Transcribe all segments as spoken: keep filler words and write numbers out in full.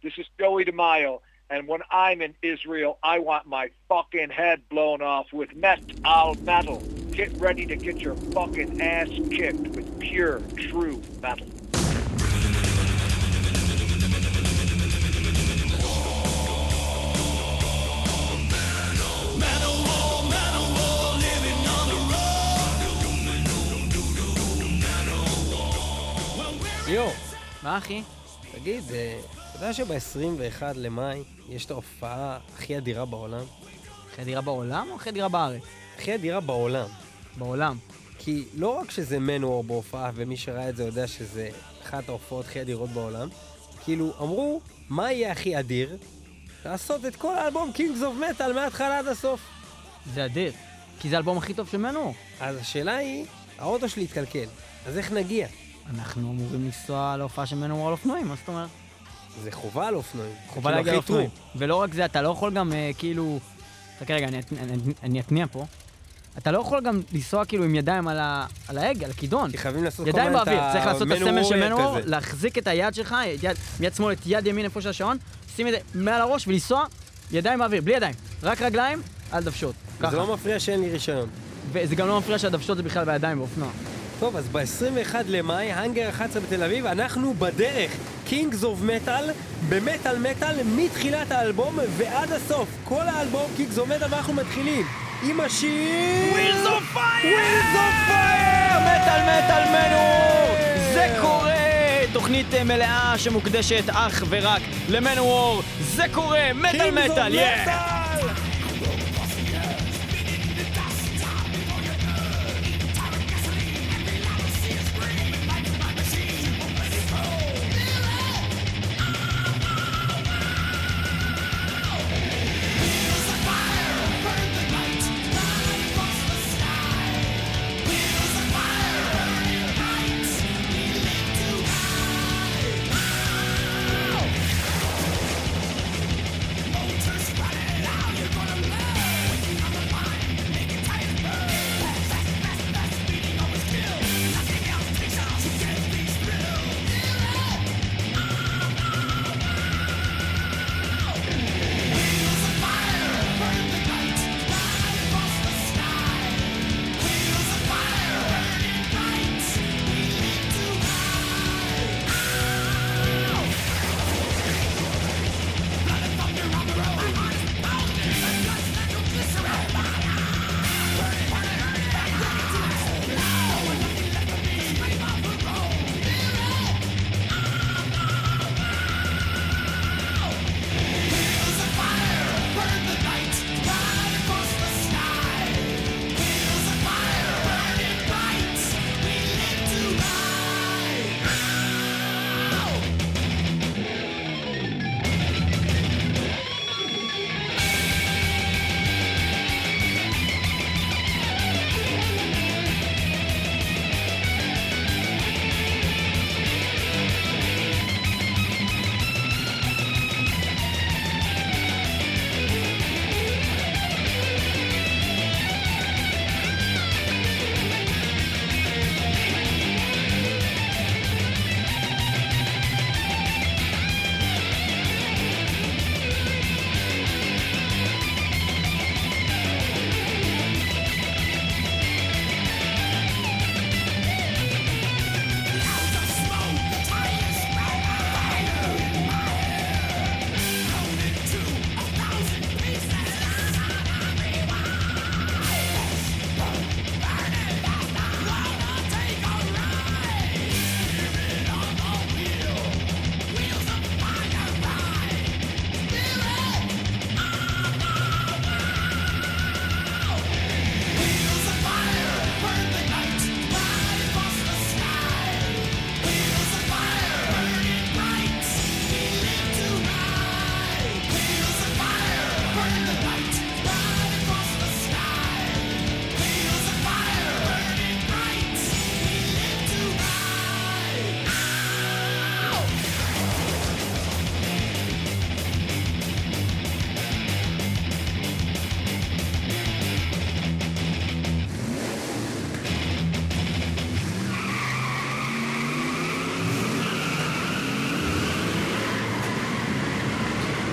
This is Joey DeMaio, and when I'm in Israel, I want my fucking head blown off with metal metal. Get ready to get your fucking ass kicked with pure, true metal. יו, מה אחי? תגיד, אתה יודע שב-עשרים ואחד למאי יש את ההופעה הכי אדירה בעולם? הכי אדירה בעולם או הכי אדירה בארץ? הכי אדירה בעולם. בעולם. כי לא רק שזה מנואר בהופעה, ומי שראה את זה יודע שזה אחת ההופעות הכי אדירות בעולם, כאילו אמרו, מה יהיה הכי אדיר? לעשות את כל האלבום Kings of Metal מההתחלה עד הסוף. זה אדיר, כי זה האלבום הכי טוב של מנואר. אז השאלה היא, האוטו שלי התקלקל, אז איך נגיע? אנחנו אמורים לנסוע להופעה של מנואר על אופנועים, מה זאת אומרת? זה חובה על אופנועים. חובה להגיע על אופנועים. ולא רק זה, אתה לא יכול גם אה, כאילו... תקרא רגע, אני, אני, אני אתניע פה. אתה לא יכול גם לנסוע כאילו עם ידיים על, ה, על ההג, על הכידון. כי חייבים לעשות ידיים כל באוויר, צריך לעשות את הסמל של מנואר, כזה. להחזיק את היד שלך, יד, מיד שמאל את יד ימין איפה של השעון, שים את זה מעל הראש ולנסוע ידיים באוויר, בלי ידיים, רק רגליים על דוושות. זה לא מפריע שאין לי רישיון. וזה גם לא מפריע שהדוושות זה בכלל בידיים באופנוע. טוב, אז ב-עשרים ואחד למאי, האנגר אחת עשרה בתל אביב, אנחנו בדרך. Kings of Metal, במטל מטל, מתחילת האלבום ועד הסוף. כל האלבום Kings of Metal, ואנחנו מתחילים עם השיר... Wheels of Fire! Wheels of Fire! מטל מטל מנואר! זה קורה! תוכנית מלאה שמוקדשת אך ורק למנואר. זה קורה! מטל מטל! Kings of Metal!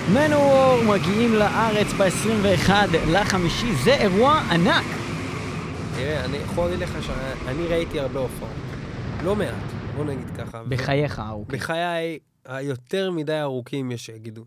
מנוור מגיעים לארץ ב-עשרים ואחד לחמישי, זה אירוע ענק. תראה, אני יכול להגיד לך שאני ראיתי הרבה הופעות. לא מעט, בוא נגיד ככה. בחייך ארוכים. בחיי היותר מדי ארוכים יש שיגידו.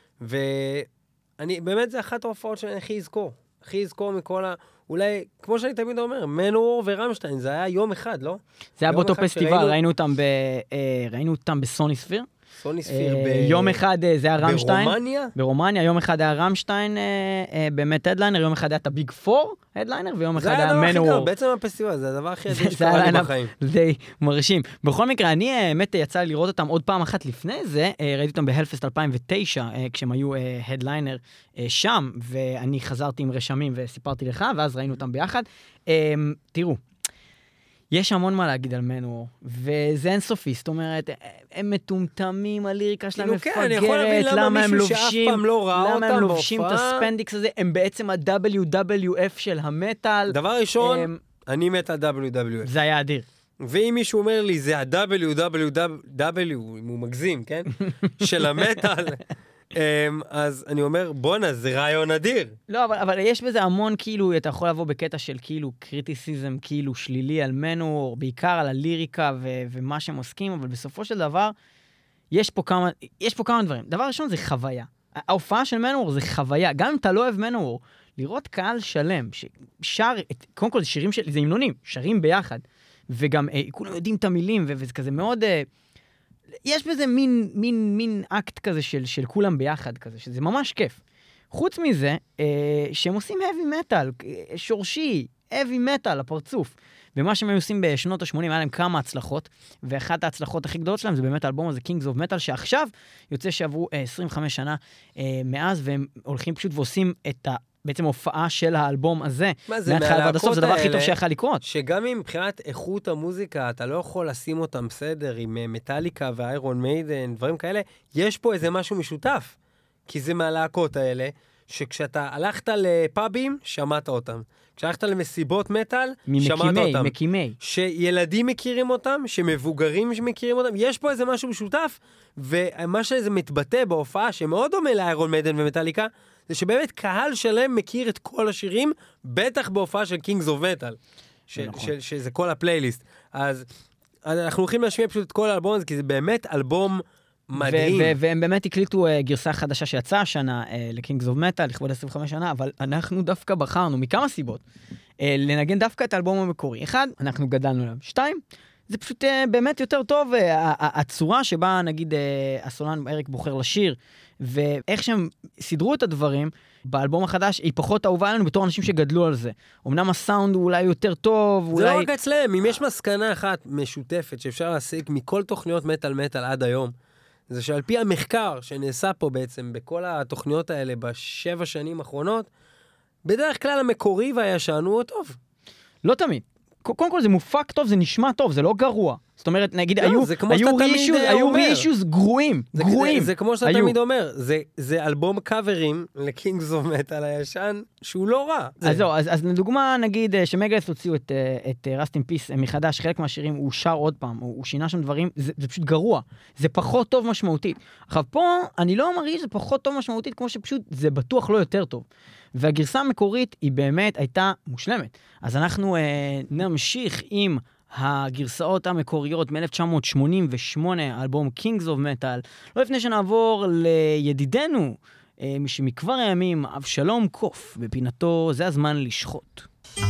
ואני, באמת זה אחת ההופעות שאני הכי אזכור. הכי אזכור מכל ה... אולי, כמו שאני תמיד אומר, מנוור ורמשטיין, זה היה יום אחד, לא? זה היה באותו פסטיבל, ראינו אותם ב... ראינו אותם בסוני ספיר. סוני ספיר ב... יום אחד זה היה רמשטיין. ברומניה? ברומניה, יום אחד היה רמשטיין באמת הדליינר, יום אחד היה את הביג פור הדליינר, ויום אחד היה מנוור. זה היה הדבר הכי גר, בעצם הפסטיבל, זה הדבר הכי עדיף שקרה לי בחיים. זה די מרשים. בכל מקרה, אני באמת יצא לי לראות אותם עוד פעם אחת לפני זה, ראיתי אותם בהלפסט אלפיים ותשע, כשהם היו הדליינר שם, ואני חזרתי עם רשמים וסיפרתי לך, ואז ראינו אותם ביחד. תראו, יש המון מה להגיד על מנוור, וזה אינסופי, זאת אומרת, הם מטומטמים, הליריקה שלהם מפגרת, למה הם לובשים, למה הם לובשים את הספנדיקס הזה, הם בעצם ה-דאבליו דאבליו אף של המטל. דבר ראשון, אני מת ה-דאבליו דאבליו אף. זה היה אדיר. ואם מישהו אומר לי, זה ה-דאבליו דאבליו דאבליו, אם הוא מגזים, כן? של המטל. אז אני אומר, בונה, זה רעיון אדיר. לא, אבל, אבל יש בזה המון, כאילו, אתה יכול לבוא בקטע של כאילו קריטיסיזם, כאילו שלילי על מנוור, בעיקר על הליריקה ו- ומה שהם עוסקים, אבל בסופו של דבר, יש פה כמה, יש פה כמה דברים. דבר ראשון זה חוויה. ההופעה של מנוור זה חוויה. גם אם אתה לא אוהב מנוור, לראות קהל שלם, ששר, את, קודם כל זה שירים של, זה המנונים, שרים ביחד, וגם אה, כולם יודעים את המילים, ו- וזה כזה מאוד... אה, יש בזה מין, מין, מין אקט כזה של, של כולם ביחד כזה, שזה ממש כיף. חוץ מזה, אה, שהם עושים heavy metal, שורשי, heavy metal, הפרצוף. ומה שהם עושים בשנות ה-שמונים, היה להם כמה הצלחות, ואחת ההצלחות הכי גדולות שלהם זה באמת האלבום הזה, Kings of Metal, שעכשיו יוצא שעברו אה, עשרים וחמש שנה אה, מאז, והם הולכים פשוט ועושים את ה... בעצם הופעה של האלבום הזה, מהתחלה ועד הסוף, זה הדבר הכי טוב שיכול לקרות. שגם אם מבחינת איכות המוזיקה, אתה לא יכול לשים אותם בסדר עם מטליקה ואיירון מיידן, דברים כאלה, יש פה איזה משהו משותף, כי זה מהלהקות האלה, שכשאתה הלכת לפאבים, שמעת אותם. כשהלכת למסיבות מטל, שמעת אותם. מקימי. שילדים מכירים אותם, שמבוגרים מכירים אותם, יש פה איזה משהו משותף, ומה שזה מתבטא בהופעה, שמאוד דומה לאיירון מיידן ומטליקה, זה שבאמת קהל שלם מכיר את כל השירים, בטח בהופעה של Kings of Metal, ש- ש- שזה כל הפלייליסט. אז אנחנו הולכים להשמיע פשוט את כל האלבום הזה, כי זה באמת אלבום מדהים. ו- ו- והם באמת הקליטו uh, גרסה חדשה שיצאה השנה uh, ל-Kings of Metal, לכבוד עשרים וחמש שנה, אבל אנחנו דווקא בחרנו, מכמה סיבות, uh, לנגן דווקא את האלבום המקורי. אחד, אנחנו גדלנו עליו. שתיים, זה פשוט uh, באמת יותר טוב, uh, הצורה שבה נגיד uh, הסולן אריק בוחר לשיר, ואיך שהם סידרו את הדברים באלבום החדש, היא פחות אהובה עלינו בתור אנשים שגדלו על זה. אמנם הסאונד הוא אולי יותר טוב, זה אולי... לא רק אצלם, אם יש מסקנה אחת משותפת שאפשר להסיק מכל תוכניות מטל מטל עד היום, זה שעל פי המחקר שנעשה פה בעצם בכל התוכניות האלה בשבע שנים האחרונות, בדרך כלל המקורי והישן הוא טוב. לא תמיד. קודם כל זה מופק טוב, זה נשמע טוב, זה לא גרוע. זאת אומרת, נגיד, היו רישוס גרועים, גרועים. זה כמו שאתה תמיד אומר, זה אלבום קאברים לקינגס אוף מטל הישן, שהוא לא רע. אז זהו, אז לדוגמה, נגיד, שמגלס הוציאו את Rust in Peace מחדש, חלק מהשירים הוא שר עוד פעם, הוא שינה שם דברים, זה פשוט גרוע. זה פחות טוב משמעותית. עכשיו פה, אני לא מרגיש שזה פחות טוב משמעותית, כמו שפשוט זה בטוח לא יותר טוב. והגרסה המקורית היא באמת הייתה מושלמת. אז אנחנו אה, נמשיך עם הגרסאות המקוריות מ-אלף תשע מאות שמונים ושמונה, האלבום Kings of Metal. לא לפני שנעבור לידידנו, אה, שמכבר הימים, אבשלום קוף, בפינתו זה הזמן לשחוט.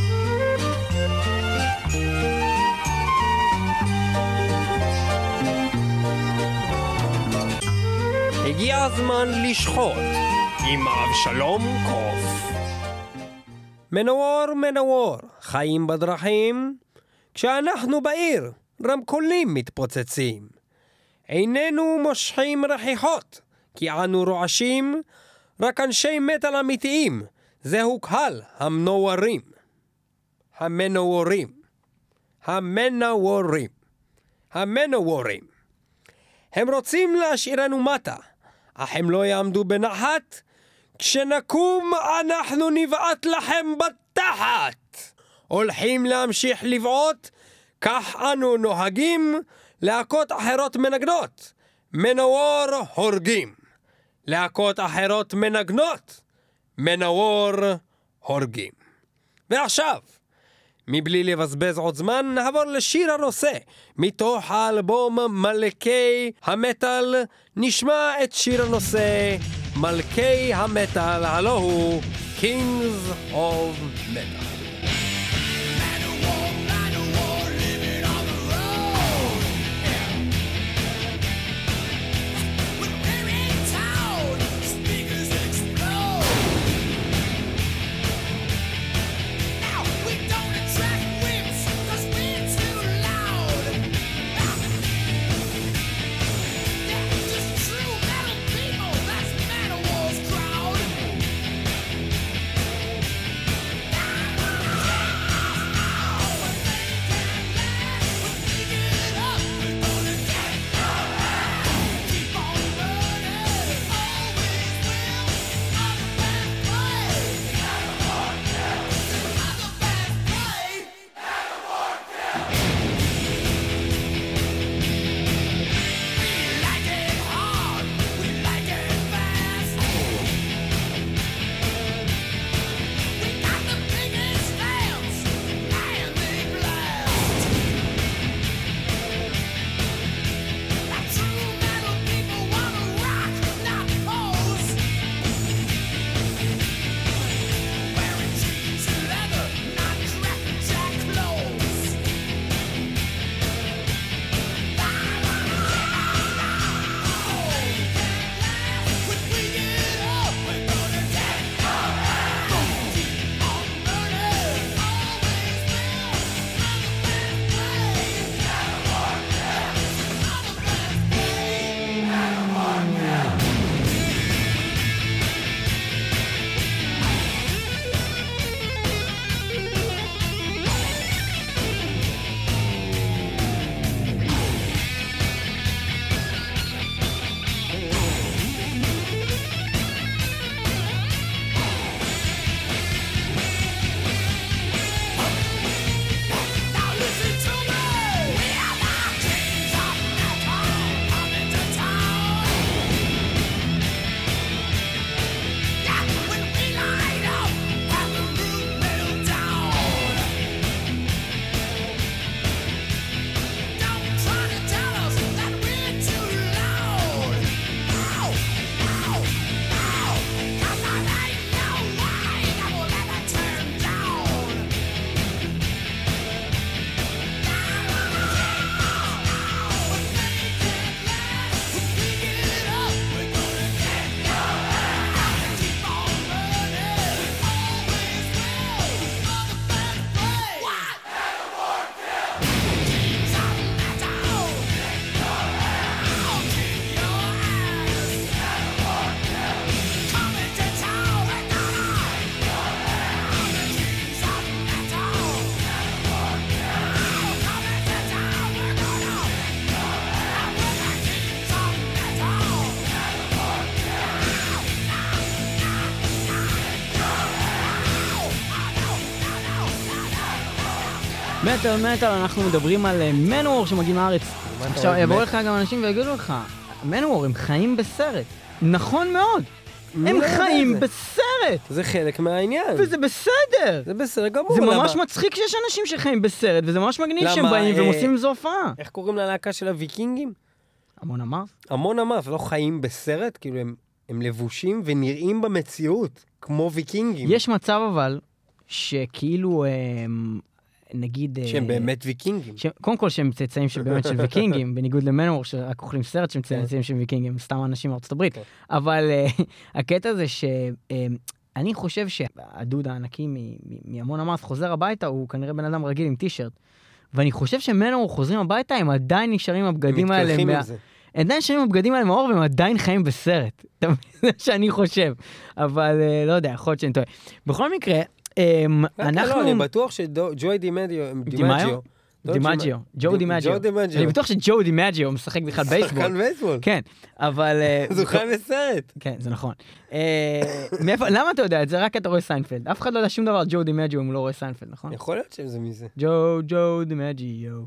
הגיע הזמן לשחוט. עם אבשלום קוף. מנוור מנוור, חיים בדרכים, כשאנחנו בעיר, רמקולים מתפוצצים. איננו מושכים רחיחות, כי אנו רועשים, רק אנשי מטל אמיתיים, זהו קהל המנורים. המנורים. המנורים. המנורים. הם רוצים להשאירנו מטה, אך הם לא יעמדו בנחת, כשנקום אנחנו נבעט לכם בתחת. הולכים להמשיך לבעוט, כך אנו נוהגים, להקות אחרות מנגנות, מנוור הורגים. להקות אחרות מנגנות, מנוור הורגים. ועכשיו, מבלי לבזבז עוד זמן, נעבור לשיר הנושא. מתוך האלבום מלכי המטל, נשמע את שיר הנושא, מלכי המטל, הלא הוא Kings of Metal. מטל מטל, אנחנו מדברים על מנוור שמגיעים לארץ. עכשיו יבואו לך גם אנשים ויגידו לך, מנוור הם חיים בסרט. נכון מאוד, הם חיים בסרט. זה חלק מהעניין. וזה בסדר. זה בסדר גמור. זה ממש מצחיק שיש אנשים שחיים בסרט, וזה ממש מגניב שהם באים והם עושים איזו הופעה. איך קוראים ללהקה של הוויקינגים? המון אמף. המון אמף, לא חיים בסרט, כאילו הם לבושים ונראים במציאות, כמו ויקינגים. יש מצב אבל, שכאילו... נגיד... שהם באמת ויקינגים. קודם כל שהם צאצאים של באמת של ויקינגים, בניגוד למנוור שרק אוכלים סרט שהם צאצאים של ויקינגים, סתם אנשים מארצות הברית. אבל הקטע זה שאני חושב שהדוד הענקי מהמון אמרת חוזר הביתה, הוא כנראה בן אדם רגיל עם טישרט. ואני חושב שמנוור חוזרים הביתה, הם עדיין נשארים הבגדים האלה. הם מתקלחים עם זה. הם עדיין נשארים הבגדים האלה מאור, והם עדיין חיים בסרט. זה שאני חושב. אבל לא יודע, יכול להיות שאני טועה. בכל מקרה, אנחנו... אני בטוח שג'וי דימג'יו... דימג'יו? דימג'יו. ג'ו דימג'יו. אני בטוח שג'ו דימג'יו משחק בכלל בייסבול. שחקן בייסבול. כן, אבל... זה חי בסרט. כן, זה נכון. למה אתה יודע את זה? רק אתה רואה סיינפלד. אף אחד לא יודע שום דבר על ג'ו דימג'יו אם הוא לא רואה סיינפלד, נכון? יכול להיות שזה מזה. ג'ו, ג'ו דימג'יו.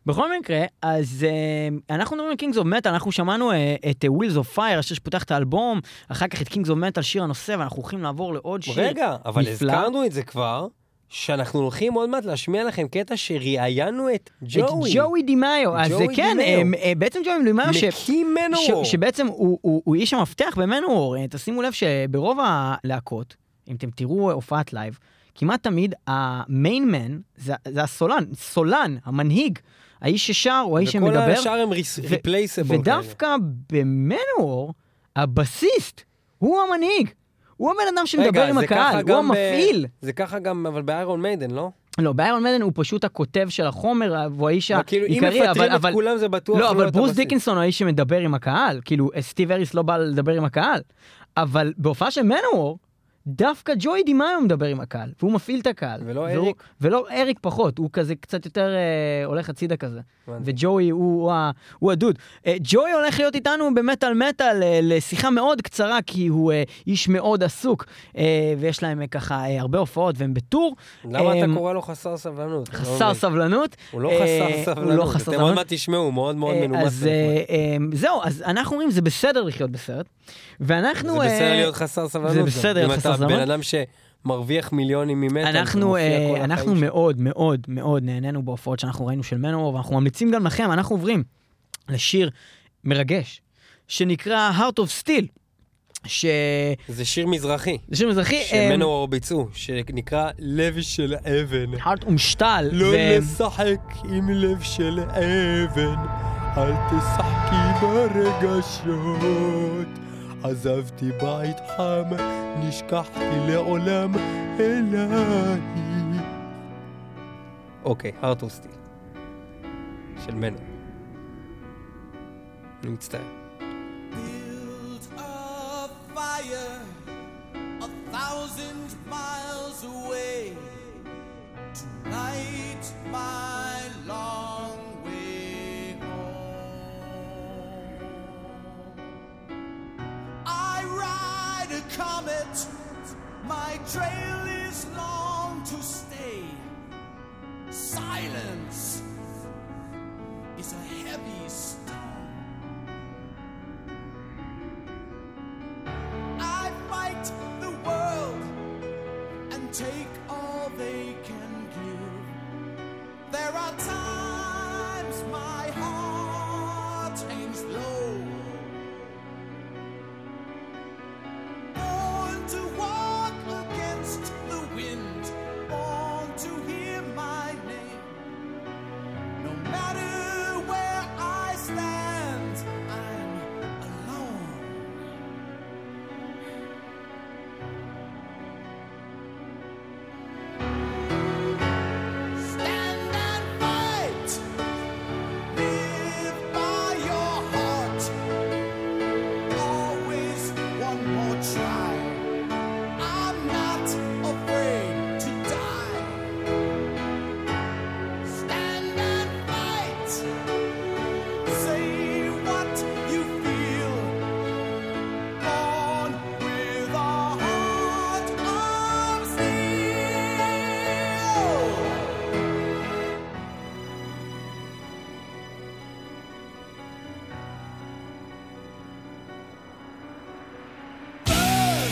בכל מקרה, אז uh, אנחנו מדברים על Kings of Metal, אנחנו שמענו uh, את uh, Wheels of Fire, השיר שפותח את האלבום, אחר כך את Kings of Metal, שיר הנושא, ואנחנו הולכים לעבור לעוד שיר. רגע, אבל נפלא. הזכרנו את זה כבר, שאנחנו הולכים עוד מעט להשמיע לכם קטע שראיינו את ג'וי. את ג'וי דימאיו. אז ג'וי כן, דימאיו. uh, uh, בעצם ג'וי דימאיו, ש... מקים מנוור. ש... שבעצם הוא, הוא, הוא איש המפתח במנוור. תשימו לב שברוב הלהקות, אם אתם תראו הופעת לייב, כמעט תמיד המיין מן, זה, זה הסולן, סולן, המנהיג, האיש ששר, או האיש שמדבר. וכל השאר הם ריפלייסבול. ודווקא במנוור, הבסיסט, הוא המנהיג. הוא הבן אדם שמדבר עם הקהל, הוא המפעיל. זה ככה גם, אבל באיירון מיידן, לא? לא, באיירון מיידן הוא פשוט הכותב של החומר, והוא האיש העיקרי. אם מפטרים את כולם זה בטוח לא, לא אבל את ברוס הבסיס. דיקנסון הוא האיש שמדבר עם הקהל. כאילו, סטיב אריס לא בא לדבר עם הקהל. אבל בהופעה של מנוור, דווקא ג'וי דימאיו מדבר עם הקהל, והוא מפעיל את הקהל. ולא והוא, אריק? ולא אריק פחות, הוא כזה קצת יותר אה, הולך הצידה כזה. וג'וי הוא, הוא, הוא, הוא הדוד. אה, ג'וי הולך להיות איתנו במטל מטל אה, לשיחה מאוד קצרה, כי הוא אה, איש מאוד עסוק, אה, ויש להם אה, ככה אה, הרבה הופעות, והם בטור. למה אה, אתה קורא לו חסר סבלנות? חסר סבלנות. הוא לא אה, חסר הוא לא סבלנות. חסר אתם עוד מעט תשמעו, הוא מאוד מאוד אה, מנומס. אז אה, אה, זהו, אז אנחנו אומרים, זה בסדר לחיות בסרט. ואנחנו... זה בסדר אה, להיות חסר סבלנות. זה בסדר להיות חסר אם אתה סבלנות. בן אדם שמרוויח מיליונים ממטל, אנחנו, אה, אנחנו מאוד מאוד מאוד נהנינו בהופעות שאנחנו ראינו של מנוור, ואנחנו ממליצים גם לכם, אנחנו עוברים לשיר מרגש, שנקרא Heart of Steel, ש... זה שיר מזרחי. זה שיר מזרחי. שמנוור ביצעו, שנקרא לב של אבן. Heart ומשתל. לא ו... לשחק עם לב של אבן, אל תשחקי ברגשות. עזבתי בית חם, נשכחתי לעולם אליי. אוקיי, Heart of Steel של מנוור. אני מצטער. Build a fire a thousand miles away to light my long way home. I ride a comet, my trail is long to stay. Silence is a heavy stone. I fight the world and take all they can give. There are times my heart hangs low. Born to walk against the wind, born to hear my name. No matter where I stand, I'm alone. Stand and fight. Live by your heart. Always one more try. I'm not afraid to die. Stand and fight. Say what you feel. Born with a heart of steel. Burn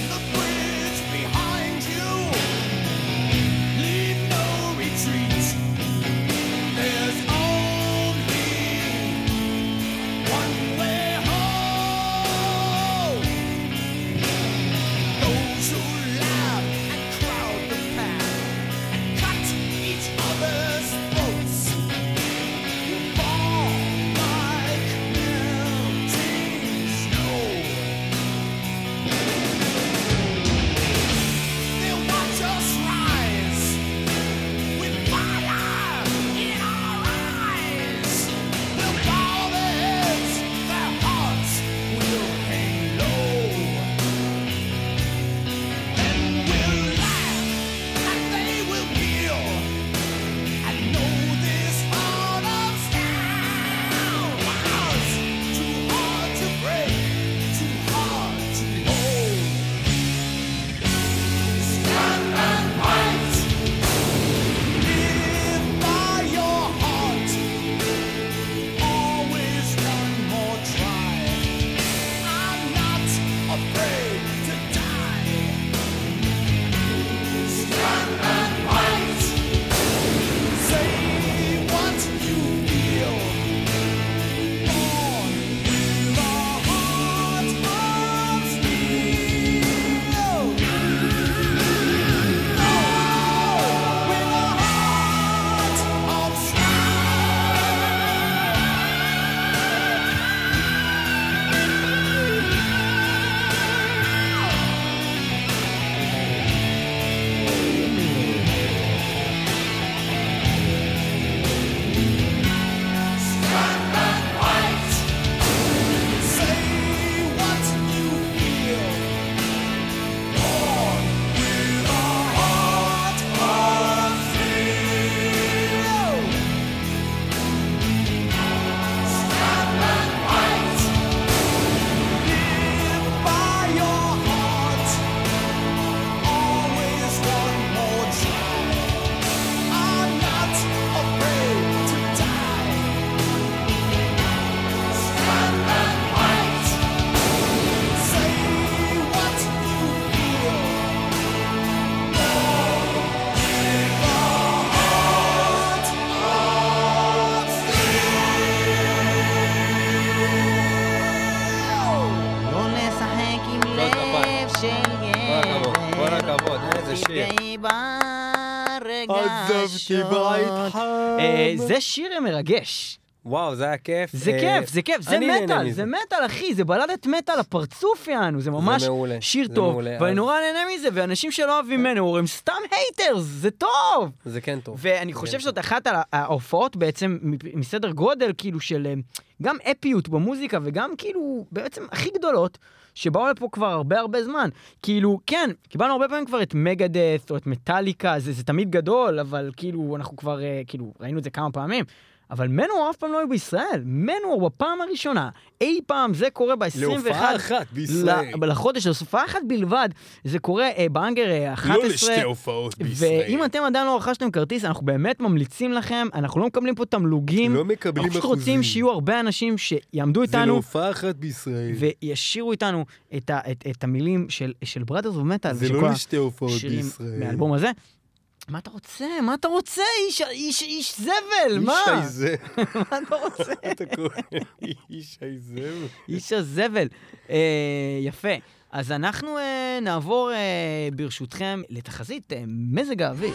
מאוד, איזה שיר. תתגעי ברגשות. עזבתי בית חם. אה, זה שיר מרגש. וואו, זה היה כיף. זה אה, כיף, זה כיף, זה אני נהנה מטל, מזה. זה מטל, אחי, זה בלדת מטל, הפרצוף יענו, זה ממש מעולה, שיר זה טוב, מעולה, ואני אז- נורא נהנה מזה, ואנשים שלא אוהבים מנוור הם סתם הייטרס, זה טוב! זה כן טוב. ואני חושב שזאת אחת ההופעות בעצם מסדר גודל, כאילו של אה, גם אפיות במוזיקה, וגם כאילו בעצם הכי גדולות, שבאו לפה כבר הרבה הרבה זמן. כאילו, כן, קיבלנו הרבה פעמים כבר את מגדס, או את מטליקה, זה, זה תמיד גדול, אבל כאילו, אנחנו כבר, אה, כאילו, ראינו את זה כמה פעמים. אבל מנוור אף פעם לא היו בישראל. מנוור בפעם הראשונה, אי פעם, זה קורה ב-עשרים ואחת... להופעה אחת בישראל. לחודש, להופעה אחת בלבד, זה קורה אה, באנגר אה, אחת עשרה. לא לשתי הופעות בישראל. ואם אתם עדיין לא רכשתם כרטיס, אנחנו באמת ממליצים לכם, אנחנו לא מקבלים פה תמלוגים. לא מקבלים אנחנו פשוט אחוזים. רוצים שיהיו הרבה אנשים שיעמדו זה איתנו, להופעה אחת בישראל. וישירו איתנו את, ה, את, את המילים של, של Brothers of Metal. זה של לא כל לשתי הופעות השירים בישראל. מהאלבום הזה. מה אתה רוצה? מה אתה רוצה? איש, איש, איש זבל, מה? איש היזבל. מה אתה רוצה? אתה קורא? איש היזבל. איש הזבל. אה, יפה. אז אנחנו אה, נעבור אה, ברשותכם לתחזית אה, מזג האוויר.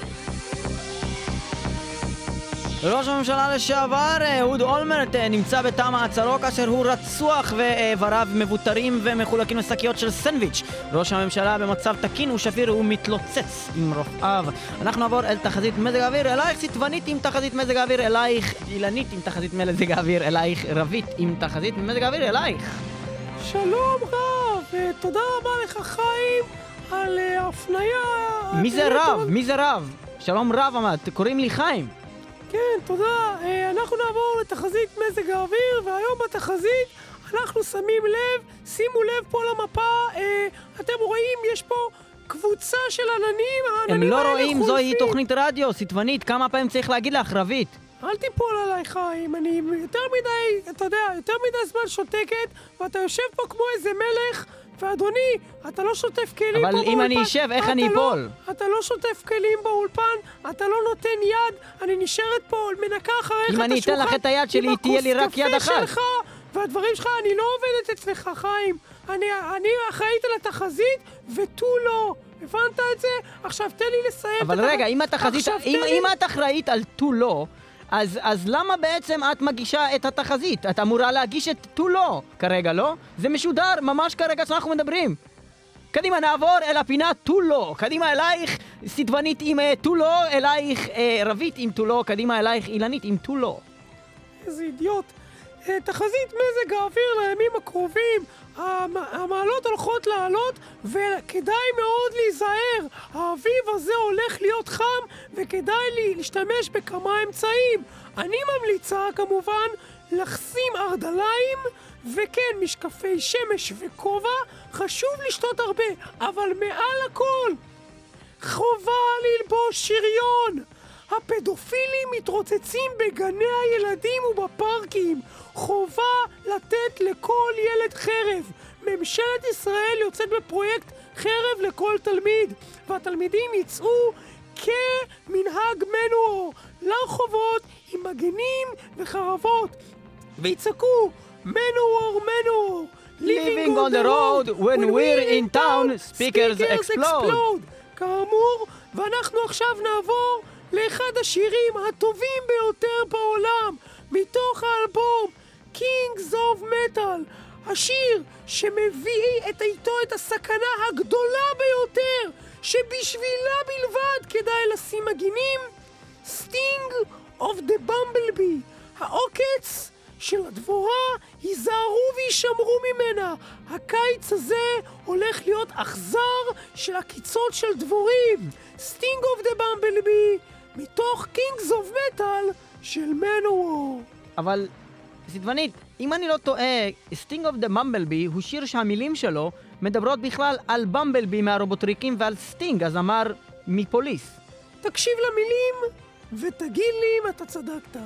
ראש הממשלה לשעבר, אהוד אולמרט, נמצא בתא מעצרו כאשר הוא רצוח ואיבריו מבוטרים ומחולקים לשקיות של סנדוויץ'. ראש הממשלה במצב תקין ושפיר ומתלוצץ עם רופאיו. אנחנו נעבור אל תחזית מזג האוויר, אלייך סיטבנית עם תחזית מזג האוויר, אלייך אילנית עם תחזית מזג האוויר, אלייך רבית עם תחזית מזג האוויר, אלייך. שלום רב, תודה רבה לך חיים על ההפניה. מי זה רב? מי זה רב? שלום רב עמד, קוראים לי חיים. כן, תודה. אנחנו נעבור לתחזית מזג האוויר, והיום בתחזית אנחנו שמים לב, שימו לב פה למפה, אתם רואים, יש פה קבוצה של עננים, הם לא רואים, זוהי תוכנית רדיו, סיטבנית, כמה פעמים צריך להגיד לך, רבית? אל תיפול עליי חיים, אני יותר מדי, אתה יודע, יותר מדי זמן שותקת, ואתה יושב פה כמו איזה מלך, ואדוני, אתה לא שוטף כלים פה באולפן. אבל אם אני אשב, איך אני אפול? אתה לא שוטף כלים באולפן, אתה לא נותן יד, אני נשארת פה, מנקה אחריך את השולחן. אם אני אתן לך את היד שלי, תהיה לי רק יד אחת. עם הכוס קפה שלך, והדברים שלך, אני לא עובדת אצלך, חיים. אני, אני אחראית על התחזית, ותו לא. הבנת את זה? עכשיו תן לי לסיים. אבל רגע, אם התחזית, אם, אם את אחראית על תו לא, אז, אז למה בעצם את מגישה את התחזית? את אמורה להגיש את תו לא כרגע, לא? זה משודר ממש כרגע שאנחנו מדברים. קדימה, נעבור אל הפינה תו לא. קדימה אלייך סיטבנית עם תו לא, אלייך אה, רבית עם תו לא, קדימה אלייך אילנית עם תו לא. איזה אידיוט. תחזית מזג האוויר לימים הקרובים, המעלות הולכות לעלות וכדאי מאוד להיזהר. האביב הזה הולך להיות חם וכדאי לי להשתמש בכמה אמצעים. אני ממליצה כמובן לחסים ארדליים וכן משקפי שמש וכובע. חשוב לשתות הרבה, אבל מעל הכל חובה ללבוש שריון. הפדופילים מתרוצצים בגני הילדים ובפארקים. חובה לתת לכל ילד חרב. ממשלת ישראל יוצאת בפרויקט חרב לכל תלמיד, והתלמידים יצאו כמנהג מנוור לרחובות עם מגנים וחרבות ויצעקו מנוור מנוור Living on the road when we're in town speakers explode. כאמור, ואנחנו עכשיו נעבור לאחד השירים הטובים ביותר בעולם מתוך האלבום Kings of Metal, השיר שמביא את איתו את הסכנה הגדולה ביותר שבשבילה בלבד כדאי לשים מגינים, Sting of the Bumblebee, העוקץ של הדבורה, היזהרו וישמרו ממנה. הקיץ הזה הולך להיות אכזר של הקיצות של דבורים. Sting of the Bumblebee מתוך Kings of Metal של מנוור. אבל סיטבנית, אם אני לא טועה, Sting of the Bumblebee הוא שיר שהמילים שלו מדברות בכלל על במבלבי מהרובוטריקים ועל סטינג, אז אמר מפוליס. תקשיב למילים ותגיד לי אם אתה צדקת.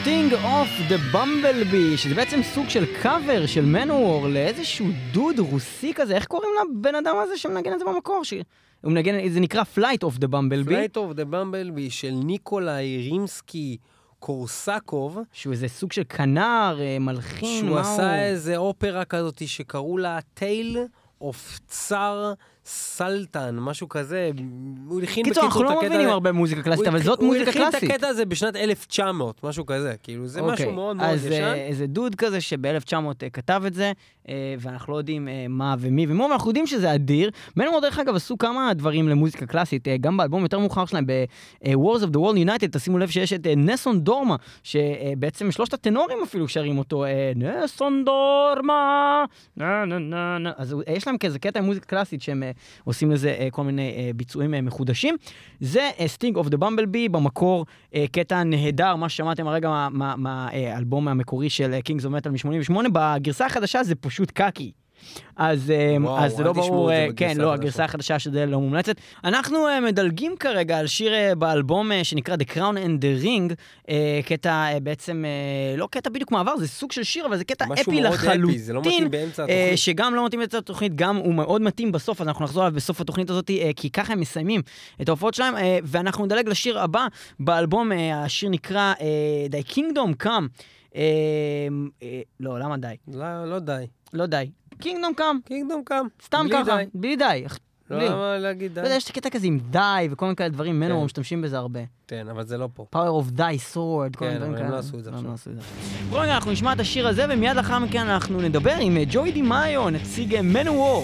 Sting of the Bumblebee, שזה בעצם סוג של קאבר של מנוור לאיזשהו דוד רוסי כזה. איך קוראים לבן אדם הזה שמנגן את זה במקור? ש... הוא מנגן, זה נקרא Flight of the Bumblebee. Flight of the Bumblebee של ניקולאי רימסקי קורסקוב. שהוא איזה סוג של כנר, מלחין. שהוא עשה הוא... איזה אופרה כזאת שקראו לה Tale of צאר סלטן, משהו כזה. הוא הכין קיצור, אנחנו לא מבינים הרבה מוזיקה קלאסית, אבל זאת מוזיקה קלאסית. הוא הכין את הקטע הזה בשנת אלף תשע מאות, משהו כזה. כאילו, זה משהו מאוד מאוד ישן. אז איזה דוד כזה שב-אלף תשע מאות כתב את זה, ואנחנו לא יודעים מה ומי ומו, אבל אנחנו יודעים שזה אדיר. מנוור, דרך אגב, עשו כמה דברים למוזיקה קלאסית, גם באלבום יותר מאוחר שלהם, ב-Wars of the World United, תשימו לב שיש את נסון דורמה, שבעצם שלושת הטנורים אפילו שרים אותו, נסון דורמה, נה נה נה נה. אז יש להם כזה קטע מוזיקה קלאסית שהם עושים לזה כל מיני ביצועים מחודשים. זה Sting of the Bumblebee, במקור קטע נהדר, מה ששמעתם הרגע מהאלבום המקורי של Kings of Metal מ-שמונים ושמונה, בגרסה החדשה זה פשוט קאקי. אז, וואו, אז זה לא ברור, כן, לא, הגרסה החדשה שזה לא מומלצת. אנחנו מדלגים כרגע על שיר באלבום שנקרא The Crown and the Ring, קטע בעצם, לא קטע בדיוק מעבר, זה סוג של שיר, אבל זה קטע אפי לחלוטין, זה לא מתאים באמצע התוכנית. שגם לא מתאים באמצע התוכנית, גם הוא מאוד מתאים בסוף, אז אנחנו נחזור עליו בסוף התוכנית הזאת, כי ככה הם מסיימים את ההופעות שלהם, ואנחנו נדלג לשיר הבא באלבום, השיר נקרא The Kingdom Come. לא, למה די? לא, לא די. לא די. קינגדום קאם. קינגדום קאם. סתם ככה, בלי די. לא, למה להגיד די? יש קטע כזה עם די וכל מיני כאלה דברים, מנוור משתמשים בזה הרבה. כן, אבל זה לא פה. Power of Thy Sword, כל מיני דברים כאלה. כן, אבל הם לא עשו את זה עכשיו. בואו רגע, אנחנו נשמע את השיר הזה, ומיד לאחר מכן אנחנו נדבר עם ג'וי די מאיו, נציג מנוור.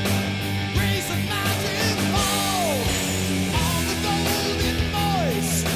Shining, raise a mountain fall on the golden voice.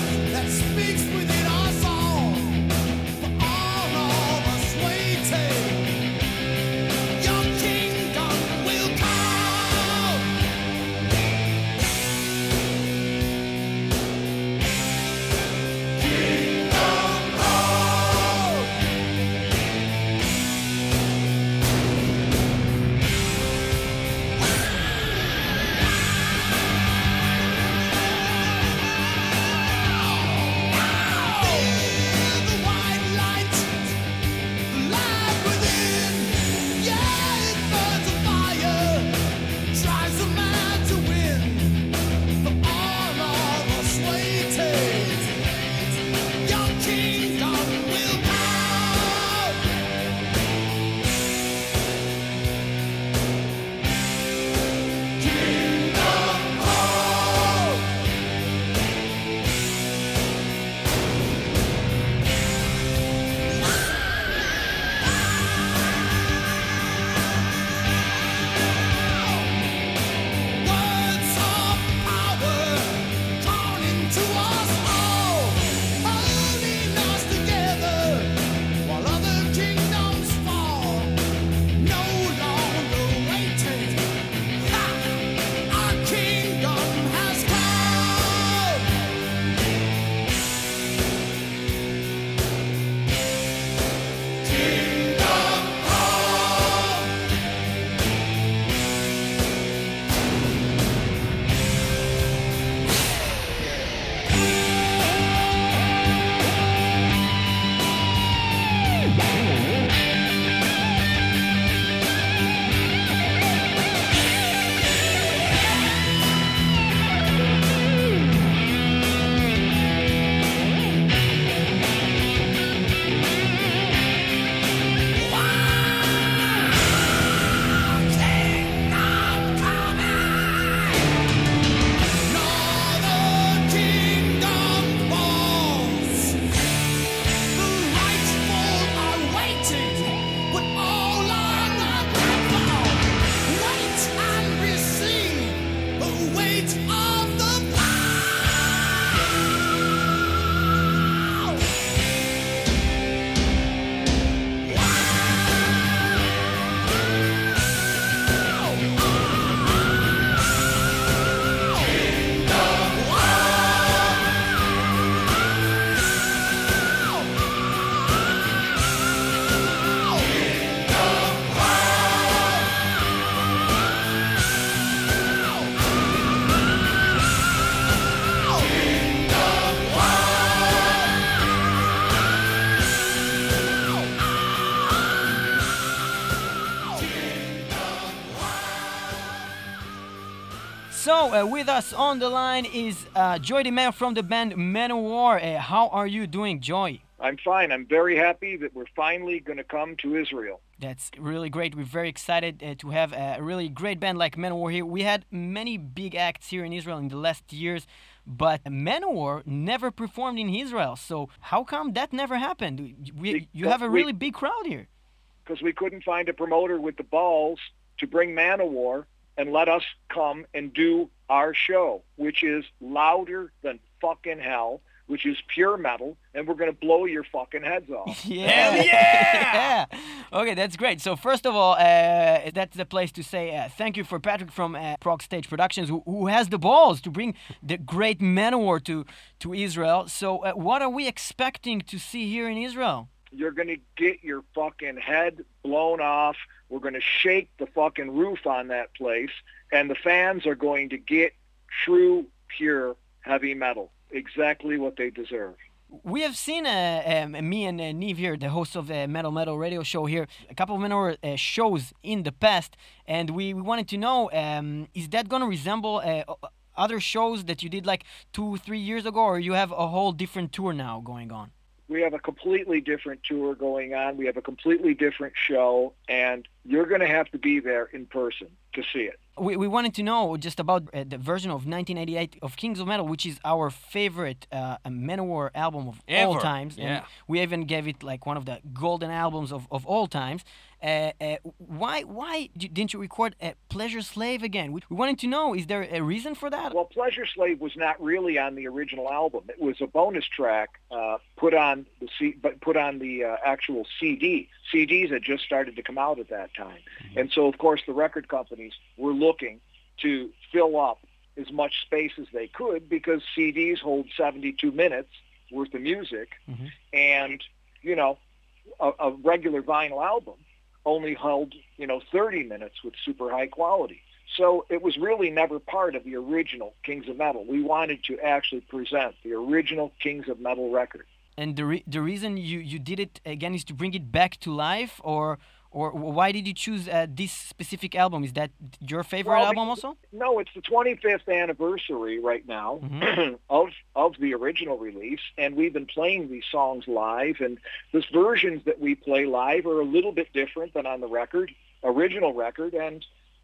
So, uh, with us on the line is uh, Joy DeMeo from the band Manowar. Uh, how are you doing, Joy? I'm fine. I'm very happy that we're finally going to come to Israel. That's really great. We're very excited uh, to have a really great band like Manowar here. We had many big acts here in Israel in the last years, but Manowar never performed in Israel. So how come that never happened? We, you have a really big crowd here. Because we couldn't find a promoter with the balls to bring Manowar and let us come and do our show, which is louder than fucking hell, which is pure metal, and we're going to blow your fucking heads off. Yeah. Hell yeah! yeah! Okay, that's great. So first of all, uh, that's the place to say uh, thank you for Patrick from uh, Prog Stage Productions, who, who has the balls to bring the great Manowar to, to Israel. So uh, what are we expecting to see here in Israel? You're going to get your fucking head blown off. We're going to shake the fucking roof on that place, and the fans are going to get true, pure heavy metal. Exactly what they deserve. We have seen uh, um, me and uh, Neve here, the host of the Metal Metal radio show here, a couple of Manowar uh, shows in the past, and we, we wanted to know, um, is that going to resemble uh, other shows that you did like two, three years ago, or you have a whole different tour now going on? We have a completely different tour going on. We have a completely different show, and you're going to have to be there in person to see it. We, we wanted to know just about uh, the version of nineteen eighty-eight of Kings of Metal, which is our favorite uh, Manowar album of Ever. all times. Yeah. And we even gave it like one of the golden albums of, of all times. Uh, uh, why why didn't you record uh, Pleasure Slave again? We, we wanted to know, is there a reason for that? Well, Pleasure Slave was not really on the original album. It was a bonus track uh, put on the C, but put on the uh, actual C D. C Ds had just started to come out at that time. Mm-hmm. And so, of course, the record companies were looking to fill up as much space as they could because C Ds hold seventy-two minutes worth of music. Mm-hmm. And, you know, a, a regular vinyl album only held, you know, thirty minutes with super high quality. So it was really never part of the original Kings of Metal. We wanted to actually present the original Kings of Metal record. And the re- the reason you, you did it again is to bring it back to life, or or why did you choose uh, this specific album? Is that your favorite well, album also? No, it's the twenty-fifth anniversary right now mm-hmm. of of the original release, and we've been playing these songs live, and the versions that we play live are a little bit different than on the record, original record, and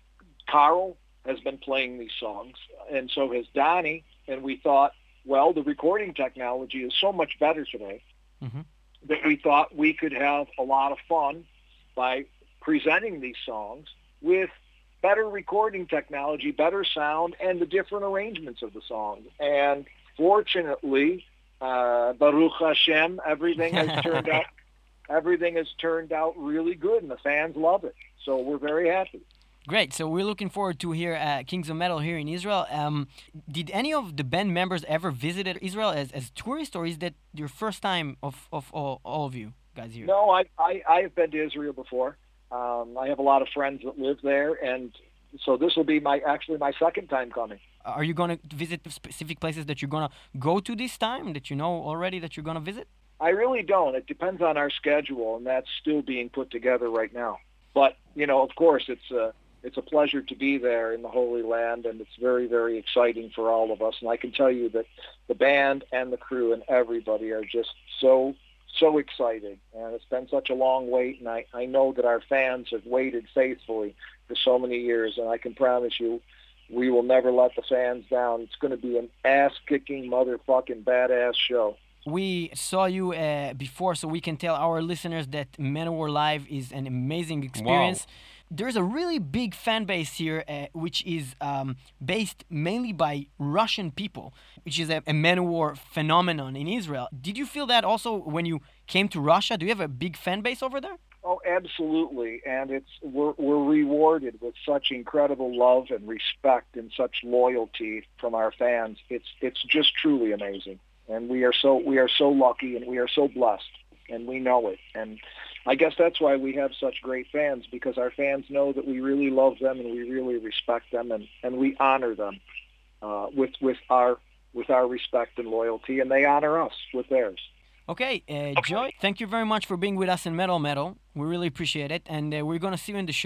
Carl has been playing these songs, and so has Donnie, and we thought, well, the recording technology is so much better today mm-hmm. that we thought we could have a lot of fun by presenting these songs with better recording technology, better sound, and the different arrangements of the songs. And fortunately, uh, Baruch Hashem, everything has turned out everything has turned out really good, and the fans love it. So we're very happy. Great. So we're looking forward to hear uh, Kings of Metal here in Israel. Um, did any of the band members ever visit Israel as, as tourists, or is that your first time of, of all, all of you guys here? No, I, I, I have been to Israel before. Um, I have a lot of friends that live there, and so this will be my actually my second time coming. Are you going to visit specific places that you're going to go to this time, that you know already that you're going to visit? I really don't. It depends on our schedule, and that's still being put together right now. But, you know, of course, it's a... It's a pleasure to be there in the Holy Land, and it's very, very exciting for all of us. And I can tell you that the band and the crew and everybody are just so, so excited. And it's been such a long wait, and I, I know that our fans have waited faithfully for so many years, and I can promise you we will never let the fans down. It's going to be an ass-kicking, motherfucking badass show. We saw you uh, before, so we can tell our listeners that Manowar Live is an amazing experience. Wow. There's a really big fan base here, uh, which is um, based mainly by Russian people, which is a, a Manowar phenomenon in Israel. Did you feel that also when you came to Russia? Do you have a big fan base over there? Oh, absolutely. And it's we're, we're rewarded with such incredible love and respect and such loyalty from our fans. It's it's just truly amazing. And we are so we are so lucky, and we are so blessed, and we know it. And I guess that's why we have such great fans, because our fans know that we really love them and we really respect them, and, and we honor them uh, with with our with our respect and loyalty, and they honor us with theirs. Okay, uh, Joy, thank you very much for being with us in Metal Metal. We really appreciate it, and uh, we're going to see you in the show.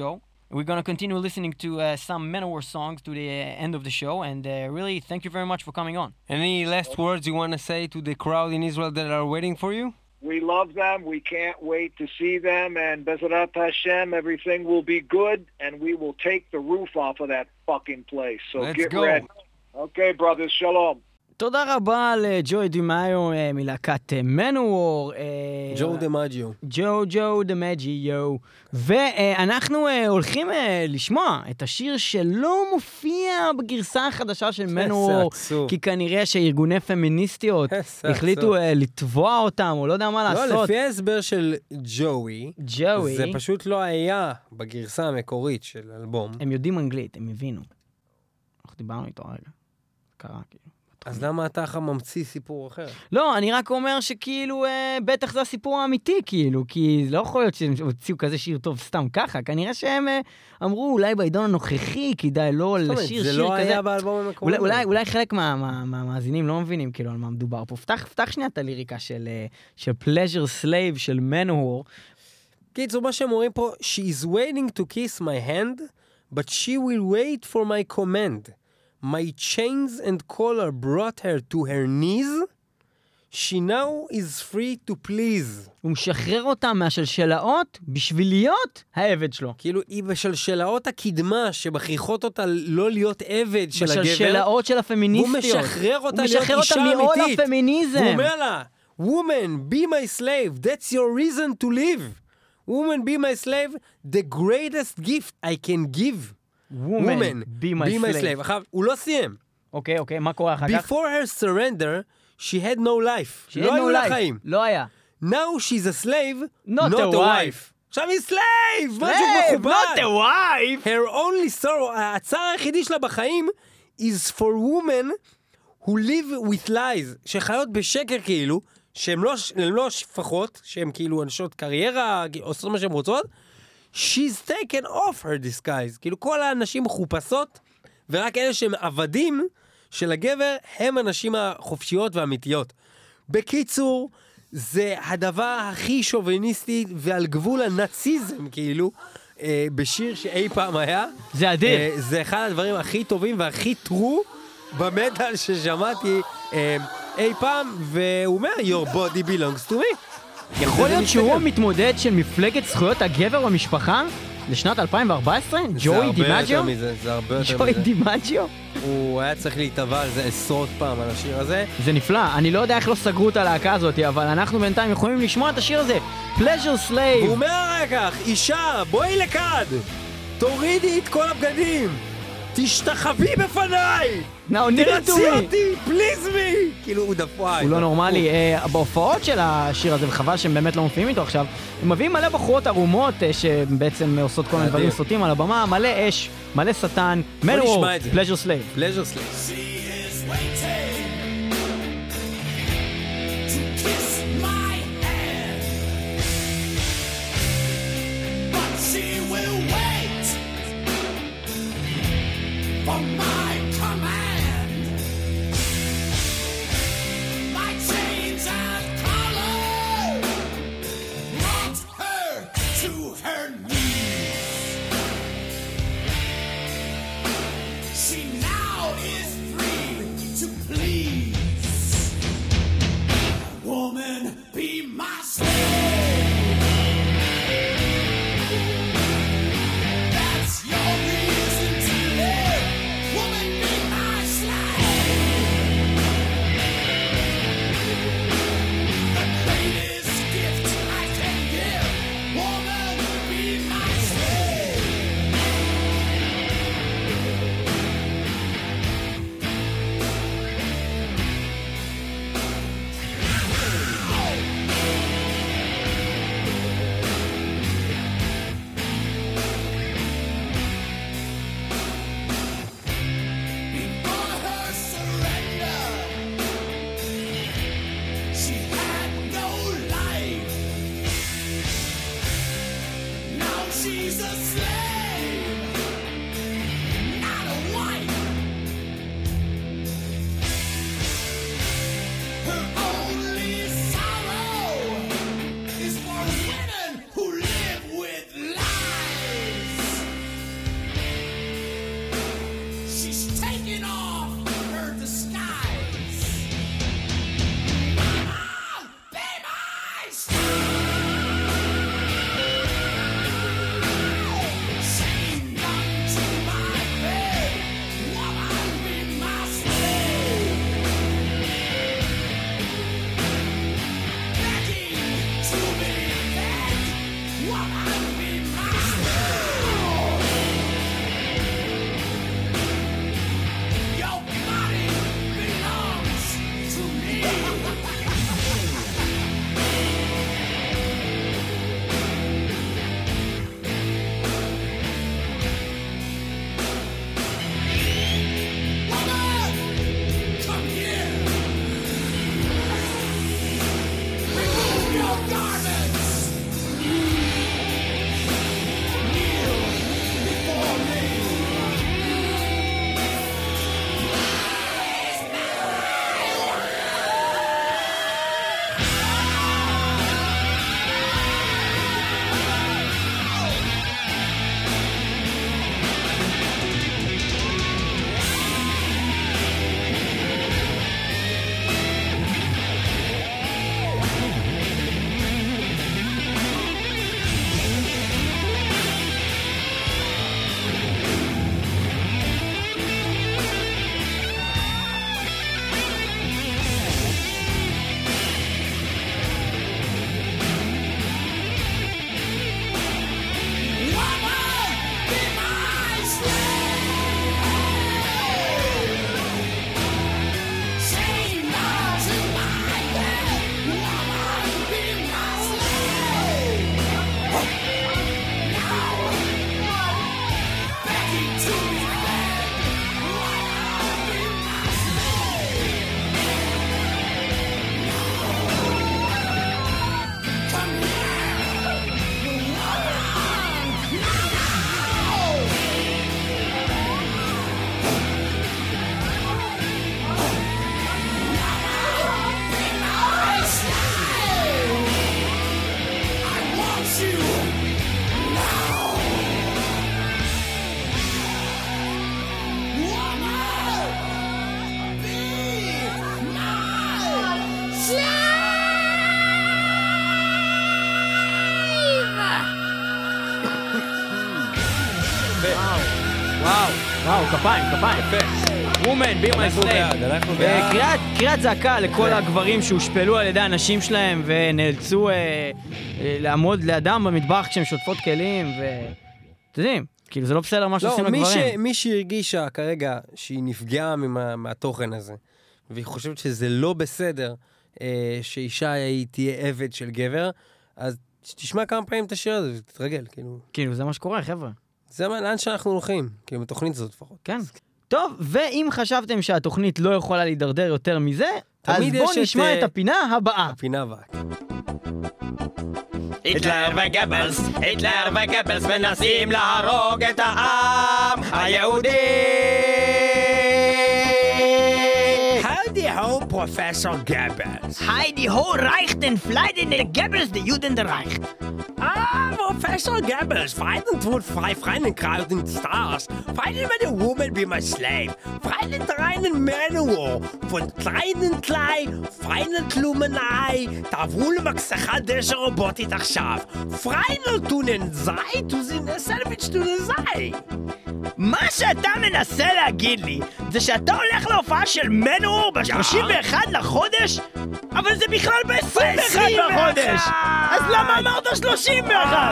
We're going to continue listening to uh, some Manowar songs to the uh, end of the show, and uh, really, thank you very much for coming on. Any last words you want to say to the crowd in Israel that are waiting for you? We love them. We can't wait to see them. And Be'ezarat Hashem, everything will be good, and we will take the roof off of that fucking place. So Let's get go. ready. Okay, brothers. Shalom. תודה רבה לג'וי דימאיו uh, מלהקת מנוור. ג'ו דמג'יו. ג'ו ג'ו דמג'יו. ואנחנו uh, הולכים uh, לשמוע את השיר שלא מופיע בגרסה החדשה של מנוור, כי כנראה שארגוני פמיניסטיות החליטו uh, לתבוע אותם, או לא יודע מה לעשות. לא, לפי ההסבר של ג'וי, ג'וי, זה פשוט לא היה בגרסה המקורית של אלבום. הם יודעים אנגלית, הם הבינו. אנחנו דיברנו איתו רגע. קרה כאילו. אז למה אתה אחר ממציא סיפור אחר? לא, אני רק אומר שכאילו, אה, בטח זה הסיפור האמיתי, כאילו, כי לא יכול להיות שהם הוציאו כזה שיר טוב סתם ככה, כנראה שהם אה, אמרו, אולי בעידון הנוכחי כדאי לא לשיר שיר כזה. זה לא היה באלבום המקורי. אולי, אולי, אולי חלק מהמאזינים מה, מה, לא מבינים כאילו על מה מדובר פה. פתח, פתח שנייה את הליריקה של, של Pleasure Slave של Manowar. קיצור, מה שהם אומרים פה, she is waiting to kiss my hand, but she will wait for my command. My chains and collar brought her to her knees. She now is free to please. הוא משחרר אותה מהשלשלאות בשביל להיות העבד שלו. כאילו, היא בשלשלאות הקדמה שבכריחות אותה לא להיות עבד של הגבר. בשלשלאות של הפמיניסטיות. הוא משחרר אותה הוא להיות משחרר אישה אותה מעול אמיתית. הפמיניזם. הוא אומר לה, woman, be my slave, that's your reason to live. Woman, be my slave, the greatest gift I can give. Woman, be my slave. עכשיו, הוא לא סיים. אוקיי, אוקיי, מה קורה אחר כך? Before her surrender, she had no life. She לא had היו no לה life. חיים. לא היה. Now she's a slave, Not not a a wife. wife. עכשיו היא slave! משהו Slave, מכובד. not a wife! Her only sorrow, הצער היחידי שלה בחיים, is for women who live with lies, שחיות בשקר כאילו, שהן לא, לא שפחות, שהן כאילו אנשות קריירה, עושות מה שהן רוצות, she's taken off her disguise. כאילו כל האנשים מחופשות, ורק אלה שהם עבדים של הגבר, הם הנשים החופשיות והאמיתיות. בקיצור, זה הדבר הכי שוביניסטי ועל גבול הנאציזם, כאילו, אה, בשיר שאי פעם היה. זה אדיר. אה, זה אחד הדברים הכי טובים והכי טרו במטל ששמעתי אה, אי פעם, והוא אומר, your body belongs to me. יכול להיות שהוא המתמודד של מפלגת זכויות הגבר במשפחה לשנת אלפיים וארבע עשרה? ג'וי דימג'יו? זה הרבה יותר מזה. ג'וי דימג'יו? הוא היה צריך להתאבע על זה עשרות פעם על השיר הזה. זה נפלא, אני לא יודע איך לא סגרו את הלהקה הזאת, אבל אנחנו בינתיים יכולים לשמוע את השיר הזה, Pleasure Slave. הוא אומר אחר כך, אישה, בואי לכאן, תורידי את כל הבגדים, תשתחווי בפניי, תרצי אותי, פליז מי. כאילו הוא דפואי. הוא לא נורמלי. בהופעות של השיר הזה, וחבל שהם באמת לא מופיעים איתו עכשיו, הם מביאים מלא בחורות ערומות שבעצם עושות כל מיני דברים סוטים על הבמה, מלא אש, מלא שטן. Manowar, Pleasure Slave. Pleasure Slave. For my command, my chains and collar brought her to her knees. She now is free to please. Woman, be my slave. That's your reason to live. Woman, וואו, וואו, כפיים, כפיים. Woman, be my אנחנו slave. בעד, אנחנו אה, בעד. קריאת, קריאת זעקה לכל הגברים שהושפלו על ידי הנשים שלהם ונאלצו אה, אה, לעמוד לידם במטבח כשהם שוטפות כלים ו... אתם יודעים, כאילו זה לא בסדר מה שעושים לא, מי, ש... לגברים. מי שהרגישה כרגע שהיא נפגעה ממה, מהתוכן הזה, והיא חושבת שזה לא בסדר אה, שאישה היא תהיה עבד של גבר, אז תשמע כמה פעמים את השיר הזה ותתרגל, כאילו. כאילו זה מה שקורה, חבר'ה. זה מה, לאן שאנחנו הולכים, כאילו בתוכנית הזאת לפחות. כן. טוב, ואם חשבתם שהתוכנית לא יכולה להידרדר יותר מזה, אז תמיד בואו יש נשמע את, את הפינה הבאה. הפינה הבאה. היטלר וגבלס, היטלר וגבלס מנסים להרוג את העם היהודי. Howdy ho, Professor Goebbels. Heidi ho reicht den Fleiden der Goebbels, der Juden der reicht. Ah, Professor Goebbels, fighting toward five frightened crowding stars, fighting with a woman be my slave, fighting reinen manual, von kleinen Klei, feinen Klumenei, da wohl maxacha dieser Robotit עכשיו, freinen tunen sei, du sind a sandwich tunen sei. מה שאתה מנסה להגיד לי, זה שאתה הולך להופעה של מנור ב-שלושים ואחד לחודש, אבל זה בכלל ב-עשרים ואחד לחודש! אז למה אמרת שלושים ואחד?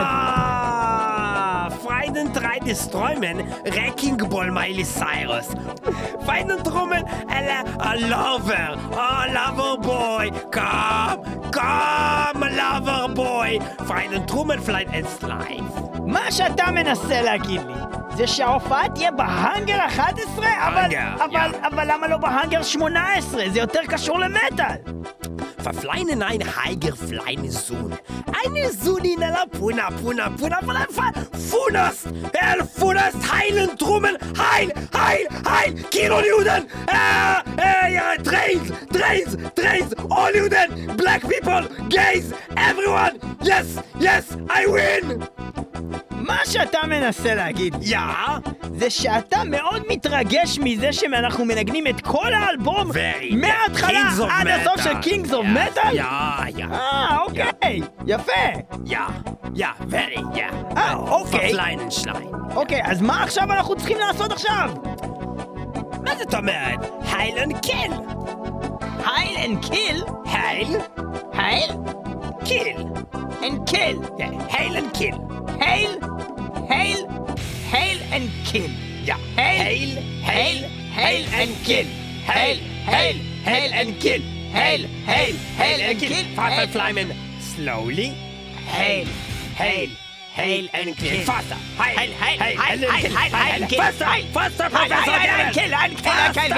Freiden drei des Träumen, Wrecking Ball Miley Cyrus. Feinen Trummen, a, a lover, a lover boy. Come, come, a lover boy. Feinen Trummen, flight and slide. מה שאתה מנסה להגיד לי, זה שההופעה תהיה בהאנגר אחת עשרה, אבל, האנגר, אבל, אבל למה לא בהאנגר שמונה עשרה? זה יותר קשור למטל. Verfleinen ein Heiger fleine Sohn. Eine Sohn in la Puna, Puna, Puna, Puna, Funast, El Funast, heilen Trummen, heil, heil, heil, Kilo Juden, äh, äh, ja, Trains, Trains, Trains, all Juden, black people, gays, everyone, yes, yes, I win! מה שאתה מנסה להגיד, יא? זה שאתה מאוד מתרגש מזה שאנחנו מנגנים את כל האלבום Very, מההתחלה Kings of עד הסוף Metal. של Kings of Yeah, Metal? Yeah, yeah. אה, אוקיי, יפה. Yeah, yeah, very, yeah. אה, אוקיי. Verfleinen Schlein. אוקיי, אז מה עכשיו אנחנו צריכים לעשות עכשיו? מה זאת אומרת? הייל אנד קיל. הייל אנד קיל? הייל? הייל? קיל. אנד קיל. הייל אנד קיל. הייל? הייל? הייל אנד קיל. יא. הייל, הייל, הייל אנד קיל. הייל, הייל, הייל אנד קיל. הייל, הייל, הייל אנד קיל. Verfleimen. Slowly. הייל, Hail. Hail and kill. Faster. Hail. הייל, הייל, Hail הייל, and הייל, kill. הייל, הייל, Hail. קיל. Faster. Faster, הייל, Professor הייל, הייל, Goebbels. קיל, הייל, קיל, הייל, קיל.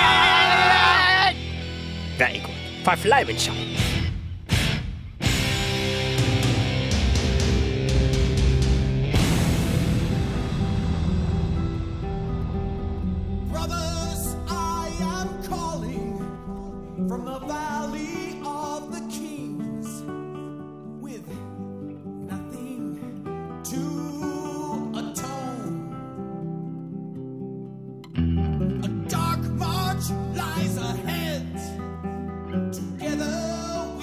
Very good. Verfleimen Schein. Brothers, I am calling from the valley of the kings with nothing to atone. A dark march lies ahead. Together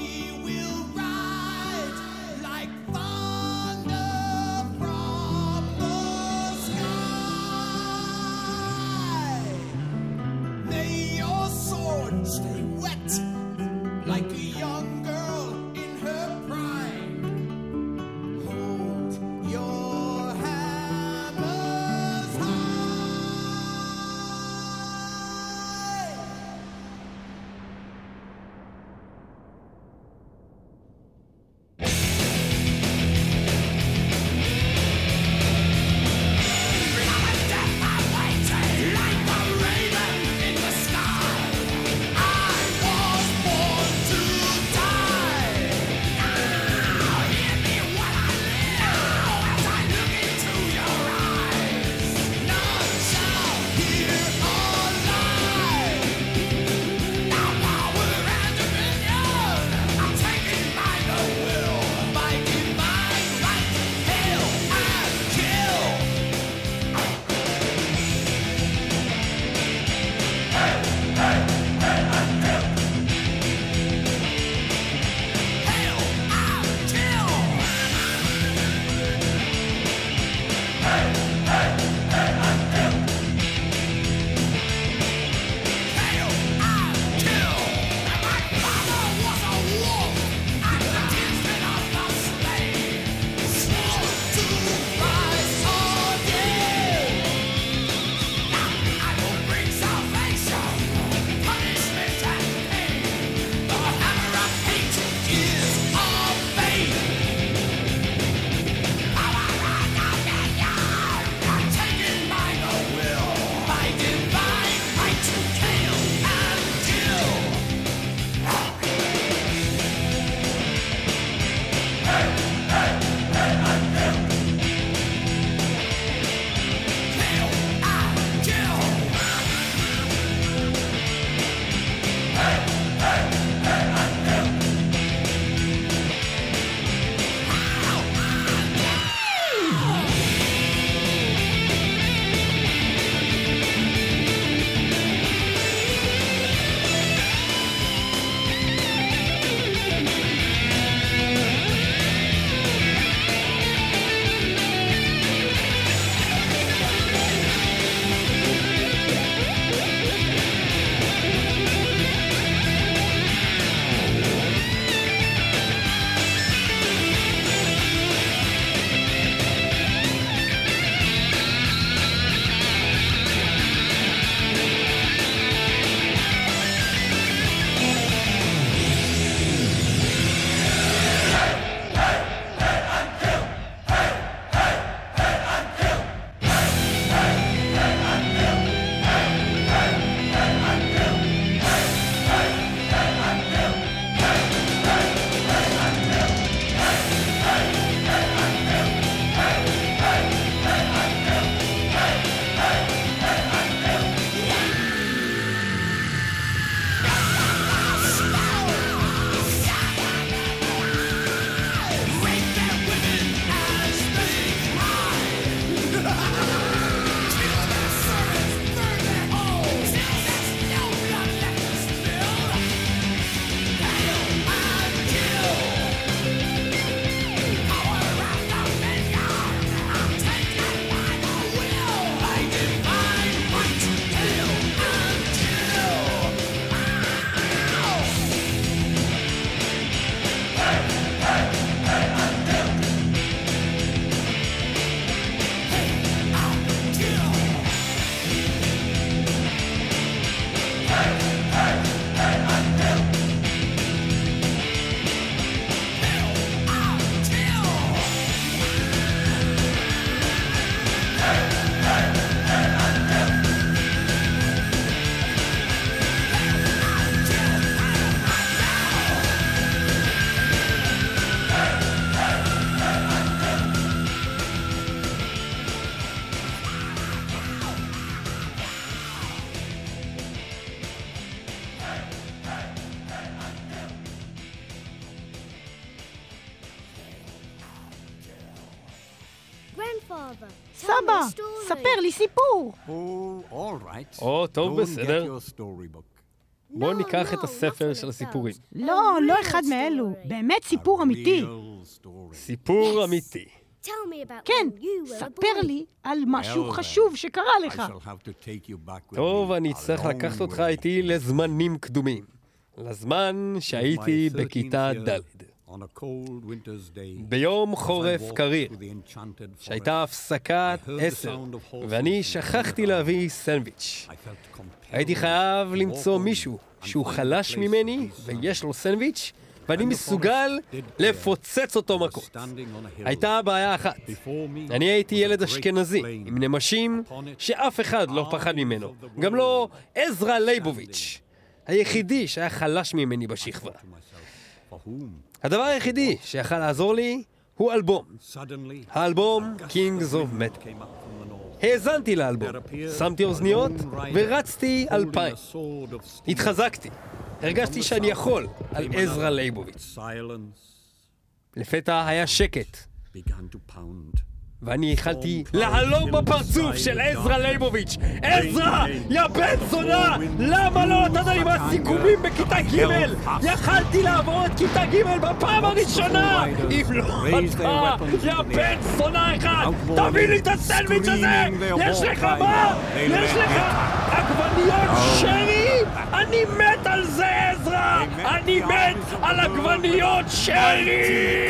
Father, סבא, tell me a story. ספר לי סיפור. Oh, all right. או, טוב, Go and בסדר. get your storybook. בוא No, ניקח את no, הספר not של one of הסיפורים. those. לא, A לא real אחד מאלו. story. באמת סיפור אמיתי. Real story. סיפור אמיתי. Tell me about כן, when you were a ספר boy. לי על משהו Well, חשוב שקרה I לך. shall have to take you back with טוב, me אני a אצטרך long לקחת אותך way. איתי לזמנים קדומים. לזמן שהייתי My בכיתה thirteenth ד'. year, on a cold winter's day, ביום as I חורף walked קריר, through the enchanted שהייתה forest, הפסקת I heard the עשר, sound of horses ואני and שכחתי the להביא סנדוויץ'. I felt compelled הייתי חייב to למצוא walk on מישהו and שהוא find a חלש place ממני to be ויש לו served. סנדוויץ' ואני And the מסוגל forest did clear. לפוצץ אותו I was מכות. standing on a hill. הייתה בעיה אחת. Before me אני הייתי was a ילד great אשכנזי, plain. עם נמשים Upon it, שאף אחד לא פחד ממנו. גם לא עזרא ליבוביץ', היחידי שהיה חלש ממני בשכבה. to myself, for whom? הדבר היחידי שיכל לעזור לי הוא אלבום. Suddenly, האלבום a gust Kings of of wind Metal. came up from the north. האזנתי לאלבום, שמתי אוזניות ורצתי אלפיים. Holding a sword of steel. התחזקתי, הרגשתי שאני יכול על עזרא ליבוביץ'. Silence לפתע היה שקט, began to pound. ואני יכלתי להלום בפרצוף של עזרא ליבוביץ'. עזרא, יא בן זונה! למה לא נתת לי מהסיכומים בכיתה ג'? יכלתי לעבור את כיתה ג' בפעם הראשונה! אם לא אתה, יא בן זונה אחד! תביא לי את הסנדוויץ' הזה! יש לך מה? יש לך עגבניות שרי? אני מת על זה, עזרא! אני מת על עגבניות שרי!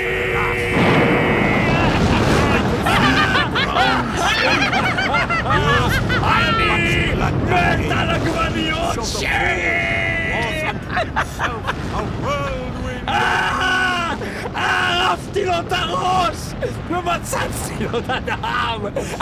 אני מת על עגבניות שרי! ערפתי לו את הראש ומצצתי לו את הדם!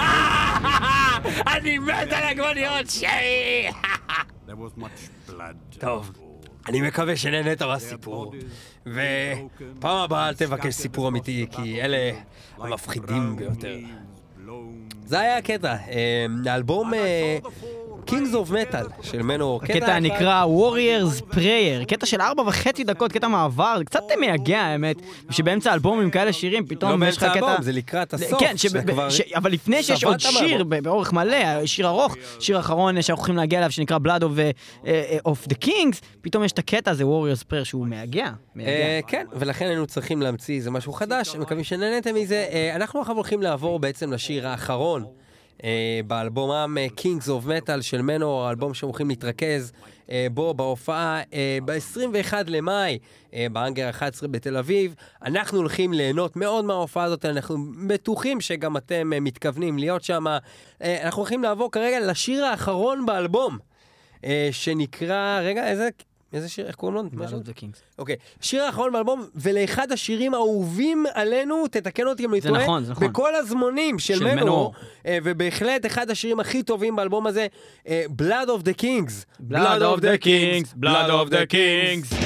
אני מת על עגבניות שרי! There was much blood. טוב, אני מקווה שנהנית מהסיפור, ופעם הבאה אל תבקש סיפור אמיתי, כי אלה המפחידים ביותר. זה היה הקטע, האלבום Kings of Metal של מנור. הקטע נקרא Warriors Prayer, קטע של ארבע וחצי דקות, קטע מעבר, זה קצת מייגע האמת, שבאמצע האלבום עם כאלה שירים, פתאום לא יש לך באמצע קטע... האלבום, זה לקראת הסוף. כן, אבל לפני שיש עוד שיר באורך מלא, שיר ארוך, שיר אחרון שאנחנו הולכים להגיע אליו, שנקרא Blood of the Kings, פתאום יש את הקטע הזה, Warriors Prayer, שהוא מייגע. כן, ולכן היינו צריכים להמציא איזה משהו חדש, מקווים שנהנתם מזה. אנחנו עכשיו הולכים לעבור בעצם לשיר האחרון, באלבומם Kings of Metal של מנור, האלבום שהולכים להתרכז בו בהופעה ב-עשרים ואחד למאי בהאנגר אחת עשרה בתל אביב. אנחנו הולכים ליהנות מאוד מההופעה הזאת, אנחנו בטוחים שגם אתם מתכוונים להיות שם. אנחנו הולכים לעבור כרגע לשיר האחרון באלבום, שנקרא, רגע, איזה... איזה שיר, איך קוראים לו? Blood of the Kings. אוקיי, שיר האחרון באלבום, ולאחד השירים האהובים עלינו, תתקן אותי אם אני טועה, זה נכון, זה נכון. בכל הזמונים של, של מנור, מנור. ובהחלט אחד השירים הכי טובים באלבום הזה, Blood of the Kings. Blood of the Kings, Blood of the Kings.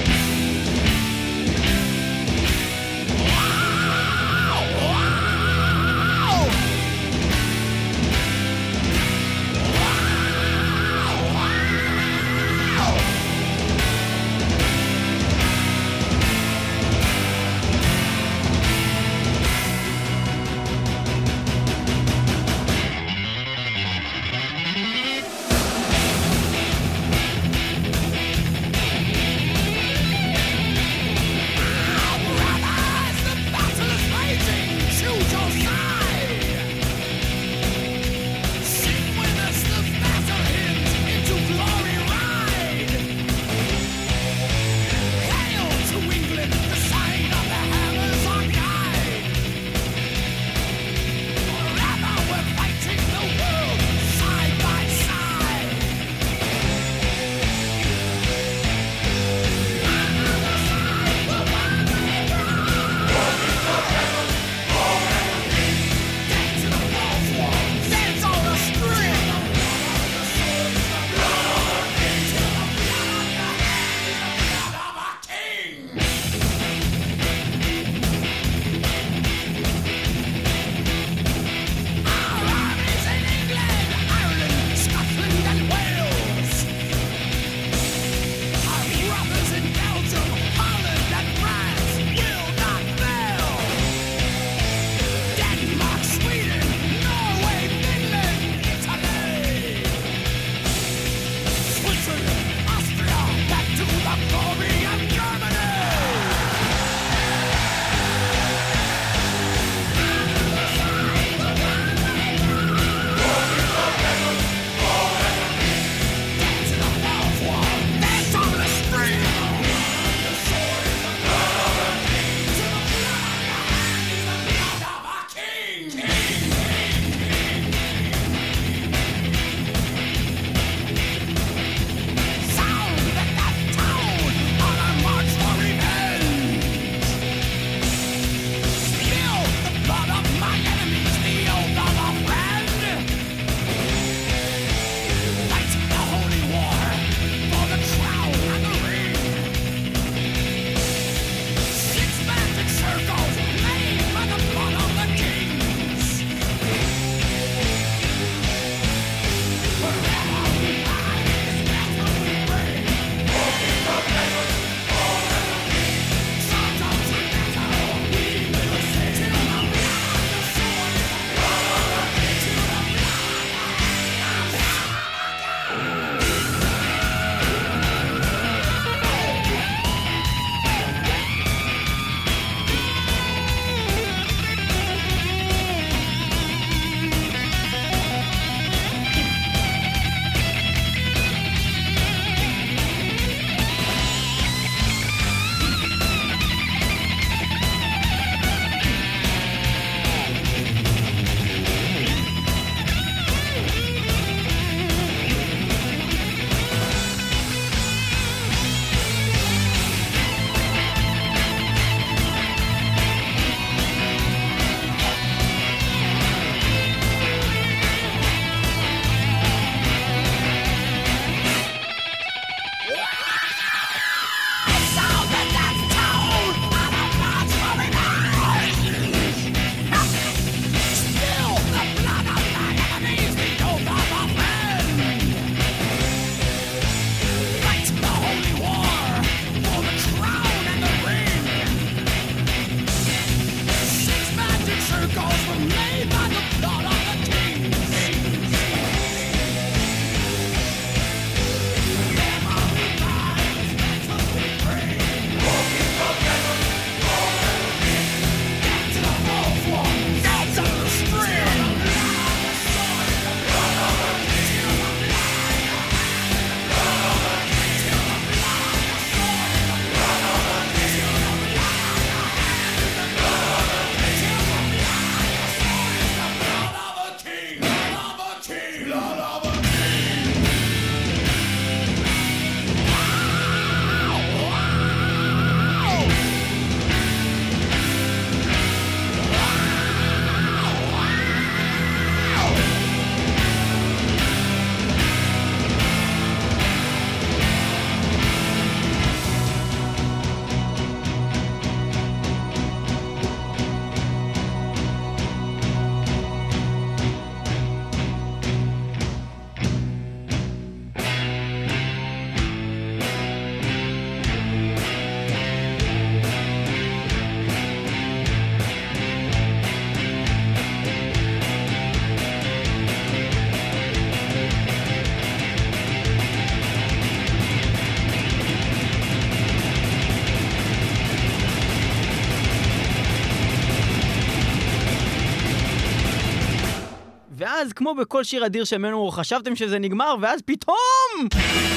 ואז, כמו בכל שיר אדיר של מנוור, חשבתם שזה נגמר, ואז פתאום!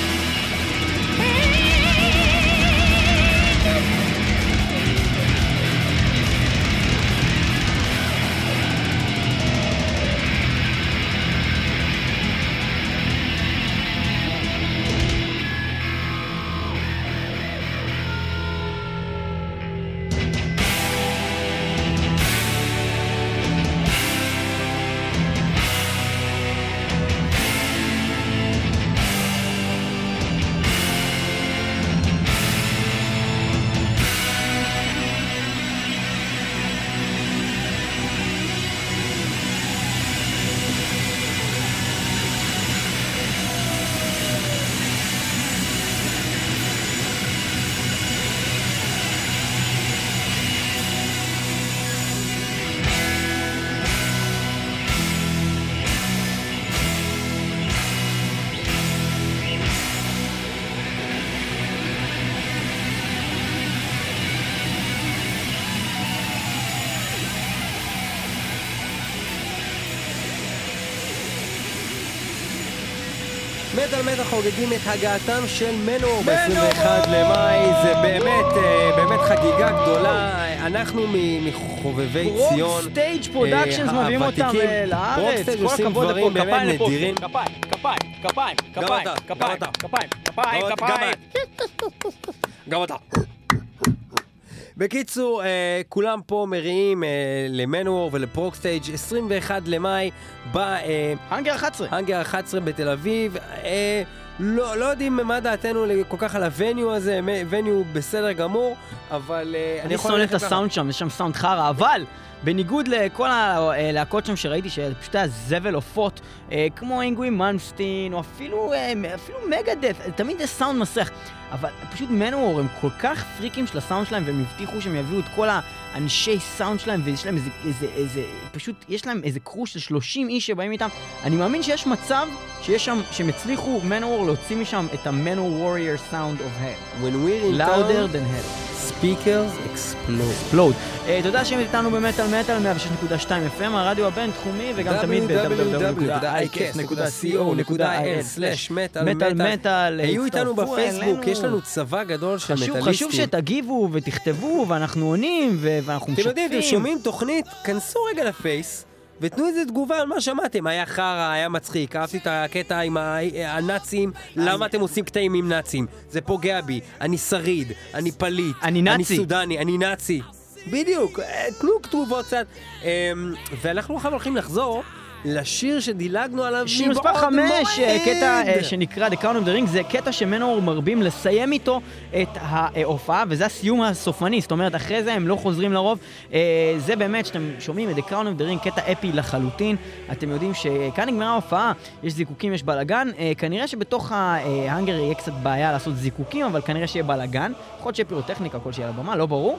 מטל מטל חוגגים את הגעתם של מנוור ב-עשרים ואחד למאי, זה באמת, באמת חגיגה גדולה. אנחנו מחובבי ציון, סטייג' פרודקשנס מביאים אותם לארץ, כל הכבוד לפה, כפיים לפה, כפיים, כפיים, כפיים, כפיים, כפיים, כפיים, כפיים, כפיים, גם אתה. בקיצור, אה, כולם פה מריעים אה, למנוור ולפרוקסטייג' עשרים ואחד למאי בהאנגר אחת עשרה. האנגר אחת עשרה בתל אביב. אה, לא, לא יודעים מה דעתנו כל כך על הווניו הזה, ווניו בסדר גמור, אבל... אה, אני שונא את הסאונד שם, יש שם סאונד חרה, אבל... בניגוד לכל הלהקות שם שראיתי שפשוט היה זבל עופות, כמו אינגווי מלמסטין, או אפילו, אפילו מגדף, תמיד יש סאונד מסך. אבל פשוט מנוור הם כל כך פריקים של הסאונד שלהם, והם הבטיחו שהם יביאו את כל האנשי סאונד שלהם, ויש להם איזה, איזה, איזה, פשוט יש להם איזה קרוש של שלושים איש שבאים איתם. אני מאמין שיש מצב שיש שם, שהם הצליחו מנוור להוציא משם את ה-Manowar Warrior Sound of Hell. When we're in Louder town, than hell. speakers explode. explode. Uh, תודה שהם איתנו במטל מטל מאה ושש נקודה שתיים אף אם, הרדיו הבינתחומי, וגם תמיד ב-דאבליו דאבליו דאבליו נקודה איי קס נקודה סי או נקודה איי אל סלאש מטל מטל. היו איתנו בפייסבוק, יש לנו צבא גדול של מטליסטים. חשוב שתגיבו ותכתבו, ואנחנו עונים, ואנחנו משתפים. אתם יודעים, אתם שומעים תוכנית, כנסו רגע לפייס, ותנו איזה תגובה על מה שמעתם. היה חרה, היה מצחיק, אהבתי את הקטע עם הנאצים, למה אתם עושים קטעים עם נאצים? זה פוגע בי, אני שריד, אני פליט, אני נאצי, אני סודני, אני נאצי. בדיוק, תנו כתובות קצת. ואנחנו עכשיו הולכים לחזור לשיר שדילגנו עליו שיר מספר חמש, קטע שנקרא The Crown of the Ring, זה קטע שמנוור מרבים לסיים איתו את ההופעה, וזה הסיום הסופני, זאת אומרת, אחרי זה הם לא חוזרים לרוב. זה באמת, שאתם שומעים את The Crown of the Ring, קטע אפי לחלוטין. אתם יודעים שכאן נגמרה ההופעה, יש זיקוקים, יש בלגן. כנראה שבתוך ההאנגר יהיה קצת בעיה לעשות זיקוקים, אבל כנראה שיהיה בלגן. יכול להיות שיהיה פירוטכניקה, כל שיהיה לבמה, לא ברור.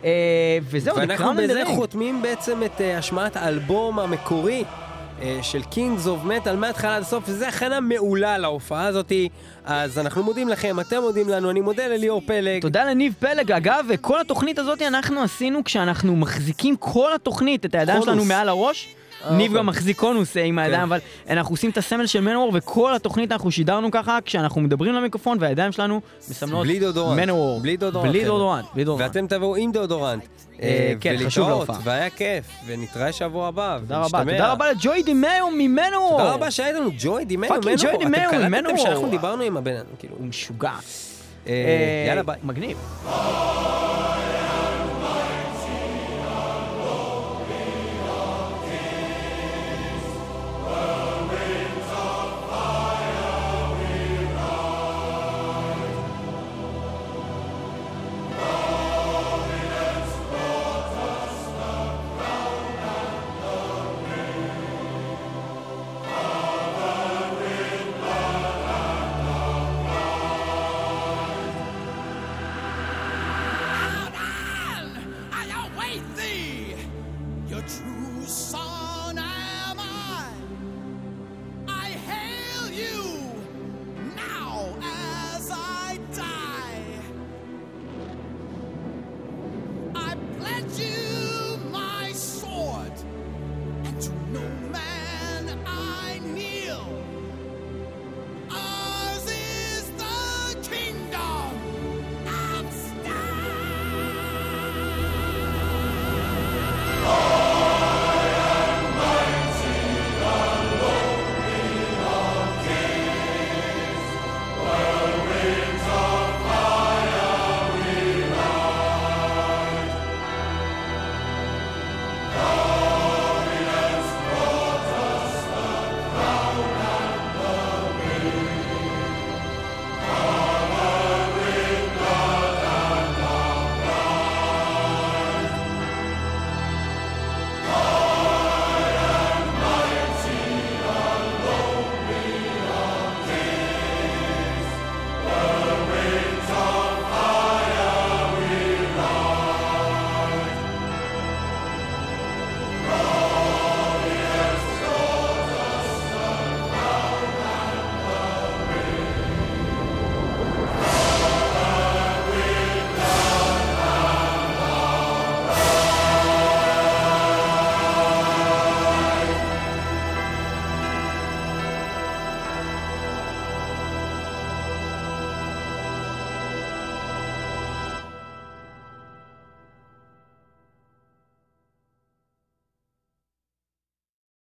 וזהו, ואנחנו בזה חותמים בעצם את השמעת האלבום המקורי של Kings of Metal מההתחלה עד הסוף, וזה הכנה מעולה להופעה הזאת. אז אנחנו מודים לכם, אתם מודים לנו, אני מודה לליאור פלג. תודה לניב פלג. אגב, כל התוכנית הזאת אנחנו עשינו כשאנחנו מחזיקים כל התוכנית, את הידיים שלנו מעל הראש. ניב גם מחזיק קונוס עם הידיים, אבל אנחנו עושים את הסמל של מנוור, וכל התוכנית אנחנו שידרנו ככה, כשאנחנו מדברים למיקרופון, והידיים שלנו מסמלות בלי דודורנט. מנוור. בלי דודורנט. בלי דודורנט. בלי דודורנט. ואתם תבואו עם דודורנט. כן, חשוב להופעה. והיה כיף, ונתראה שבוע הבא. תודה רבה. תודה רבה לג'וי דימאו ממנוור. תודה רבה שהיית לנו ג'וי דימאו ממנוור. פאקינג ג'וי דימאו אתם ממנוור. קלטתם שאנחנו דיברנו עם הבן, כאילו. הוא משוגע. יאללה ביי. מגניב.